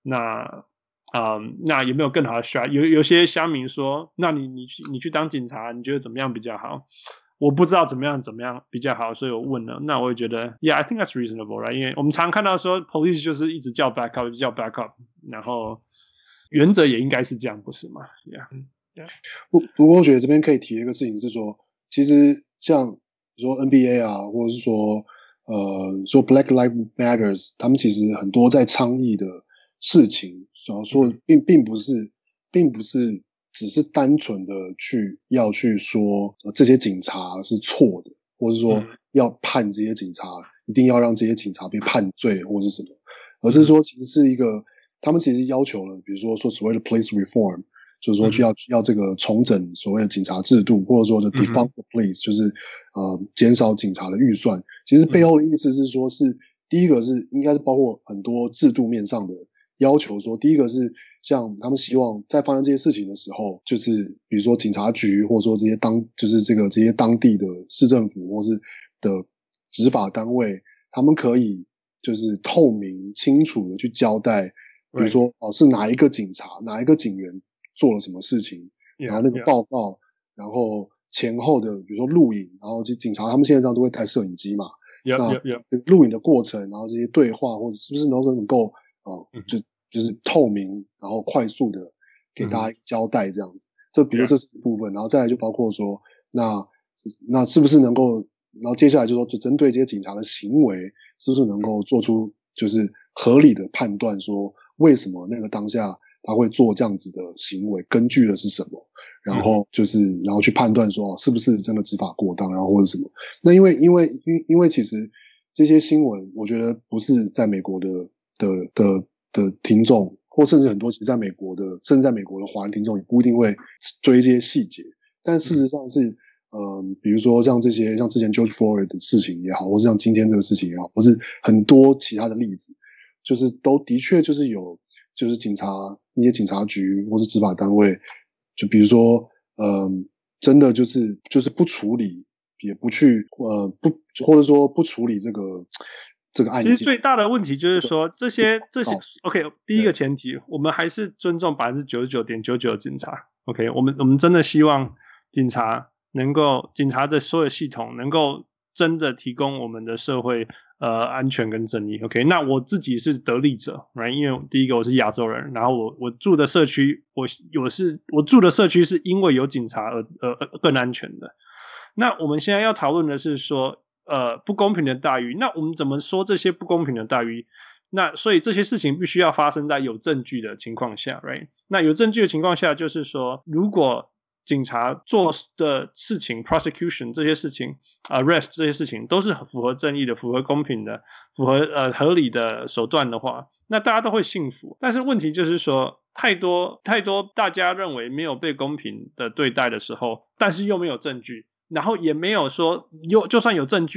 那有沒有更好的 strat？ 有些鄉民說，那你去當警察，你覺得怎麼樣比較好？我不知道怎麼樣比較好，所以我問了。那我也覺得 ，Yeah, I think that's reasonable, right？ 因為我們常看到說 ，police 就是一直叫 backup， 一直叫 backup， 然後原則也應該是這樣，不是嗎 ？Yeah。 不過我覺得這邊可以提一個事情是說，其實像。說 NBA 啊，或者是說 Black Lives Matters， 他們其實很多在倡議的事情，說並不是只是單純的要去說這些警察是錯的，或者是說要判這些警察，一定要讓這些警察被判罪或是什麼，而是說其實是一個他們其實要求了，比如說所謂的 police reform。就是說要這個重整所謂的警察制度，或者說的 defund the police， 就是減少警察的預算。其實背後的意思是說，是第一個是應該是包括很多制度面上的要求。說第一個是像他們希望在發生這些事情的時候，就是比如說警察局，或者說這些這些當地的市政府或是的執法單位，他們可以就是透明清楚的去交代，比如說是哪一個警察，哪一個警員做了什麼事情，然後那個報告，然後前後的比如說錄影，然後就警察他們現在這樣都會帶攝影機嘛，那錄影的過程，然後這些對話或者是不是能夠就是透明，然後快速的給大家交代這樣子。這比如說這是一部分，然後再來就包括說，那是不是能夠，然後接下來就說就針對這些警察的行為，是不是能夠做出就是合理的判斷，說為什麼那個當下他會做這樣子的行為，根據的是什麼？然後然後去判斷說，是不是真的執法過當，然後或者什麼？那因為其實這些新聞，我覺得不是在美國的聽眾，或甚至很多其實在美國的，甚至在美國的華人聽眾也不一定會追這些細節。但事實上是，比如說像之前 George Floyd 的事情也好，或是像今天這個事情也好，或是很多其他的例子，就是都的確就是有。就是那些警察局或是執法單位，就比如說，真的就是不處理，也不去或者說不處理這個案件。其實最大的問題就是說，這些 OK， 第一個前提，我們還是尊重 99.99% 的警察。OK， 我們真的希望警察的所有系統能夠真的提供我們的社會安全跟正義。 OK， 那我自己是得利者 right？ 因為第一個我是亞洲人，然後我住的社區我住的社區是因為有警察而更安全的。那我們現在要討論的是說不公平的待遇，那我們怎麼說這些不公平的待遇？那所以這些事情必須要發生在有證據的情況下 right？ 那有證据的情況下就是說，如果警察做的事情 prosecution 這些事情 arrest 這些事情都是符合正義的，符合公平的，符合合理的手段的話，那大家都会信服。但是問題就是說，太多大家認為没有被公平的對待的時候，但是又沒有證據，然後也沒有說就算有證據了，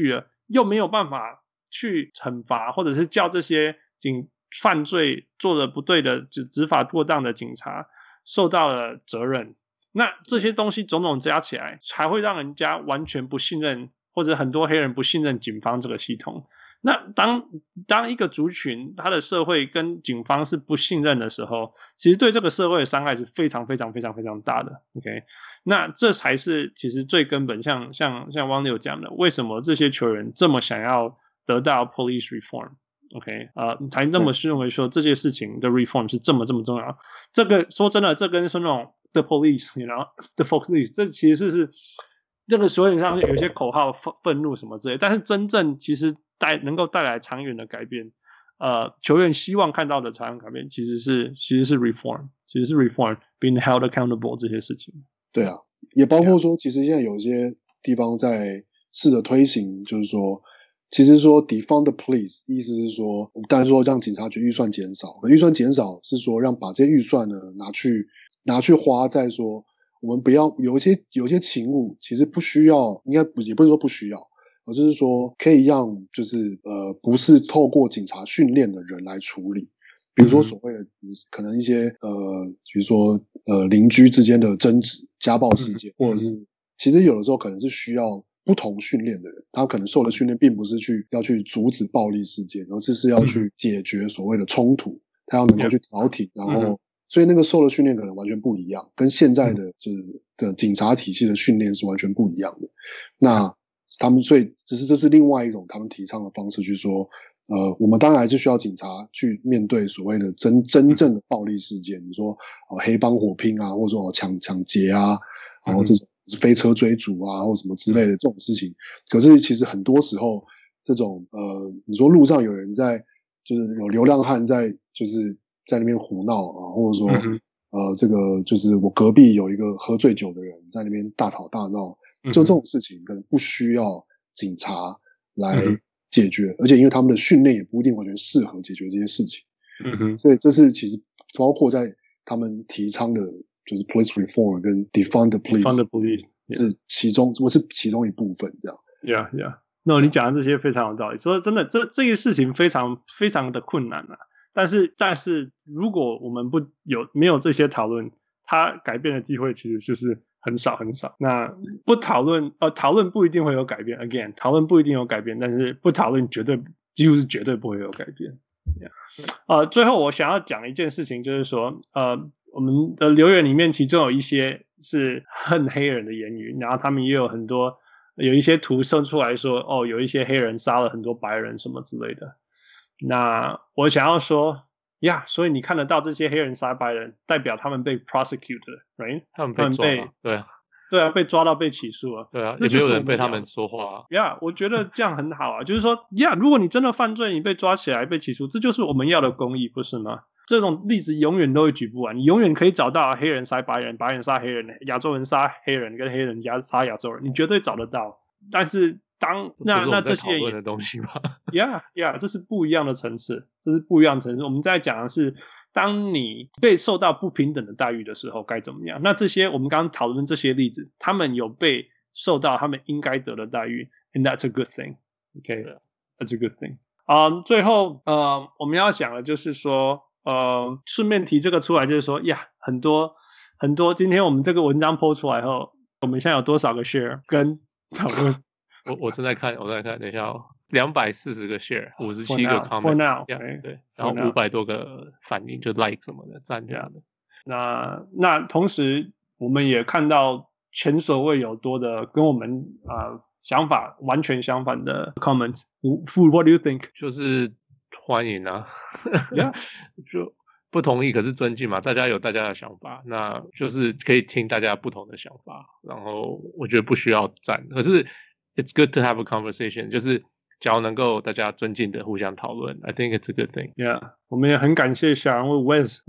又沒有辦法去懲罰或者是叫這些犯罪做的不對的執法過當的警察受到了責任，那這些東西種種加起來才會讓人家完全不信任，或者很多黑人不信任警方這個系統。那當一個族群他的社會跟警方是不信任的時候，其實對這個社會的傷害是非常非常非常非常大的。 OK， 那這才是其實最根本，像汪六講的，為什麼這些球員這麼想要得到 police reform。OK， 才那麼認為說這件事情的 reform 是這麼重要。這個說真的，這跟說那種 the police，you know the police， 這其實是這個所以上有些口號憤怒什麼之類，但是真正其實能夠帶來長遠的改變，球員希望看到的長遠改变，其實是 reform， 其實是 reform being held accountable 這些事情。 对啊，也包括說，其實現在有一些地方在試着推行，就是說。其實說 defund the police 意思是说，當然說讓警察局預算減少，可預算減少是說讓把這些預算呢拿去花在說，我們不要有一些勤務其實不需要，應該也不是說不需要，而就是說可以讓就是不是透過警察訓練的人來處理，比如說所謂的可能一些比如說鄰居之間的爭執、家暴事件，或者是其實有的時候可能是需要不同訓練的人，他可能受的訓練並不是要去阻止暴力事件，而是要去解決所謂的衝突，他要能夠去調停，然後所以那個受的訓練可能完全不一樣，跟現在的的警察體系的訓練是完全不一樣的。那他们所以这是另外一種他們提倡的方式去說，我們當然還是需要警察去面對所謂的真正的暴力事件，你說黑幫火拼啊，或者說搶劫啊，然後這種飛車追逐啊，或什麼之類的這種事情。可是其實很多時候，這種你說路上有人在，就是有流浪漢在，就是在那邊胡鬧啊，或者說這個就是我隔壁有一個喝醉酒的人在那邊大吵大鬧，就這種事情可能不需要警察來解決，而且因為他們的訓練也不一定完全適合解決這些事情。所以這是其實包括在他們提倡的。就是 police reform 跟 defund the police 是其中一部分這樣。 Yeah. No， 你講的這些非常有道理。說真的，這個事情非常非常的困難啊。但是如果我們沒有這些討論，它改變的機會其實就是很少很少。那不討論，討論不一定會有改變。Again， 討論不一定有改變，但是不討論幾乎是絕對不會有改變。最後我想要講一件事情，就是說我們的留言裡面，其中有一些是恨黑人的言語，然後他們也有一些圖生出來說，有一些黑人殺了很多白人什麼之類的。那我想要說呀，所以你看得到這些黑人殺白人，代表他們被 prosecuted， right？ 他們被對啊，被抓到被起訴了。 對啊，也沒有人被他們說話。 我覺得這樣很好啊，就是說如果你真的犯罪，你被抓起來被起訴，這就是我們要的公義，不是嗎？這種例子永遠都會舉不完，你永遠可以找到黑人殺白人，白人殺黑人，亞洲人殺黑人，跟黑人殺亞洲人，你絕對找得到。但是那這些討論的東西嗎 ？Yeah， 這是不一樣的層次，我們在講的是，當你被受到不平等的待遇的時候該怎麼樣？那這些我們剛剛討論這些例子，他們有被受到他們應該得的待遇 ，and that's a good thing。Okay，that's a good thing。最後我們要講的就是說。順便提這個出來，就是說很多今天我們這個文章 po 出來後，我們現在有多少個 share 跟討論？ 我正在看，等一下240個 share， 57個 comment， for now， 對，然後500多個反應，就 like 什麼的，讚這樣的。 那同時我們也看到前所未有多的跟我們想法完全相反的 comments。What do you think？ 就是歡迎啊 ，yeah. 就不同意可是尊敬嘛，大家有大家的想法，那就是可以聽大家不同的想法，然後我覺得不需要讚，可是 it's good to have a conversation， 就是只要能夠大家尊敬的互相討論 I think it's a good thing。 Yeah， 我們也很感謝小人物 Wes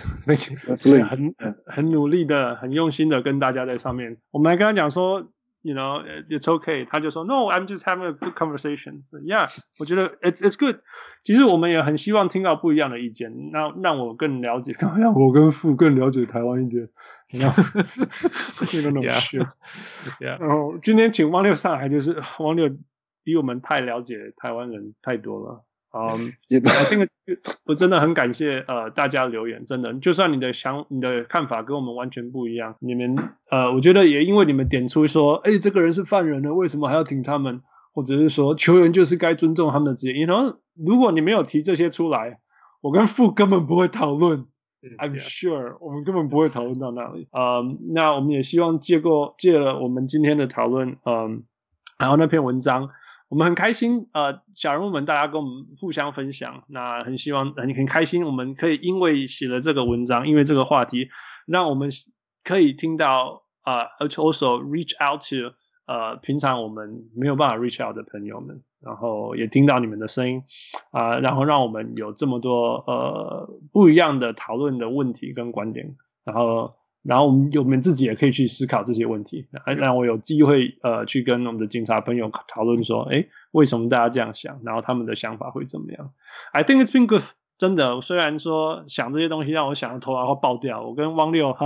很努力的很用心的跟大家在上面，我們還跟他講說You know, it's okay. 他就說 No, I'm just having a good conversation. So, yeah, 我覺得 it's good. 其實我們也很希望聽到不一樣的意見，讓我更了解，讓我跟傅更了解台灣一點。You know shit. 然後今天請汪六上來，就是汪六比我們太了解台灣人太多了。I think 我真的很感謝大家留言，真的，就算你的看法跟我們完全不一樣，你們我觉得也因为你們點出說，這個人是犯人了，為什麼還要挺他們？或者是說球員就是該尊重他們的職業。然後如果你沒有提這些出來，我跟傅根本不會討論。I'm sure 我們根本不會討論到那裡。那我們也希望借了我們今天的討論，還有那篇文章。我們很開心，小人物們大家跟我們互相分享，那很希望很開心，我們可以因為寫了這個文章，因為這個話題，讓我們可以聽到also reach out to 平常我們沒有辦法 reach out 的朋友們，然後也聽到你們的聲音，然後讓我們有這麼多不一樣的討論的問題跟觀點，然後我們自己也可以去思考這些問題，讓我有機會去跟我們的警察朋友討論說，為什麼大家這樣想，然後他們的想法會怎麼樣。I think it's been good， 真的，雖然說想這些東西讓我想的頭然後爆掉，我跟汪六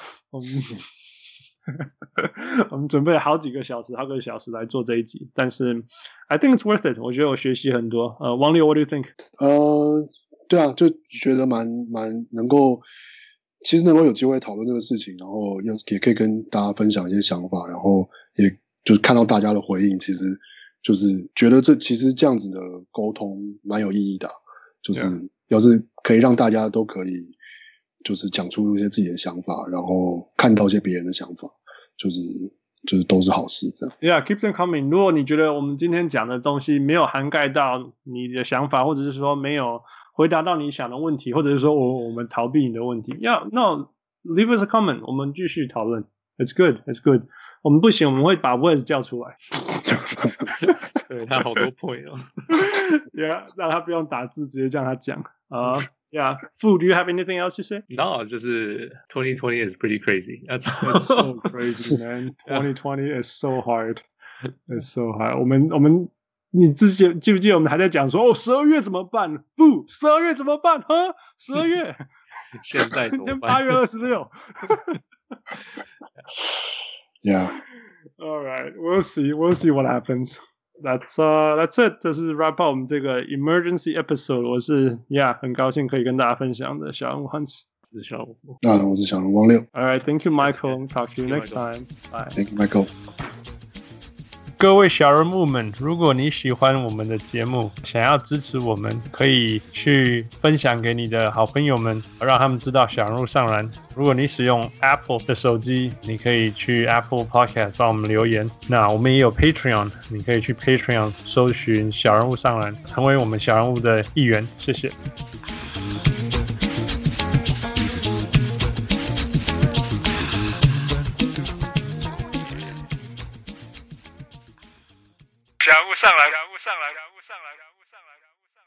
我們準備了好幾個小時來做這一集，但是 I think it's worth it， 我覺得我學習很多。汪六 ，What do you think？ 對啊，就覺得蠻能夠。其實能夠有機會討論這個事情，然後也可以跟大家分享一些想法，然後也就是看到大家的回應，其實就是覺得其實這樣子的溝通蠻有意義的，就是要是可以讓大家都可以就是講出一些自己的想法，然後看到一些別人的想法，就是都是好事這樣。 Yeah, keep them coming. 如果你覺得我們今天講的東西沒有涵蓋到你的想法，或者是說沒有回答到你想的問題，或者是說我們逃避你的問題， no, leave us a comment， 我們繼續討論。It's good, it's good。我們不行，我們會把 Wes 叫出來。 對，他好多 point 哦。 Yeah， 讓他不用打字，直接叫他講。Yeah, Fu, do you have anything else to say? No, 就是 2020 is pretty crazy. That's It's so crazy, man. 2020 is so hard. It's so hard. 我們，你之前記不記得我們還在講說12月怎麼辦？不，12月怎麼辦？12月。 現在怎麼辦？ 今天8月26。 Yeah. All right, we'll see what happens. That's it. 这是 wrap up 我們這個 emergency episode。我是很高興可以跟大家分享的小人物 Hans。 我是小人物。 我是小人物汪六。 All right, thank you, Michael. Talk to you next time. Bye. Thank you, Michael. 各位小人物們，如果你喜歡我們的節目，想要支持我們，可以去分享給你的好朋友們，讓他們知道小人物上籃。如果你使用 Apple 的手機，你可以去 Apple Podcast 幫我們留言。那我們也有 Patreon， 你可以去 Patreon 搜尋小人物上籃，成為我們小人物的一員。謝謝。小人物上籃。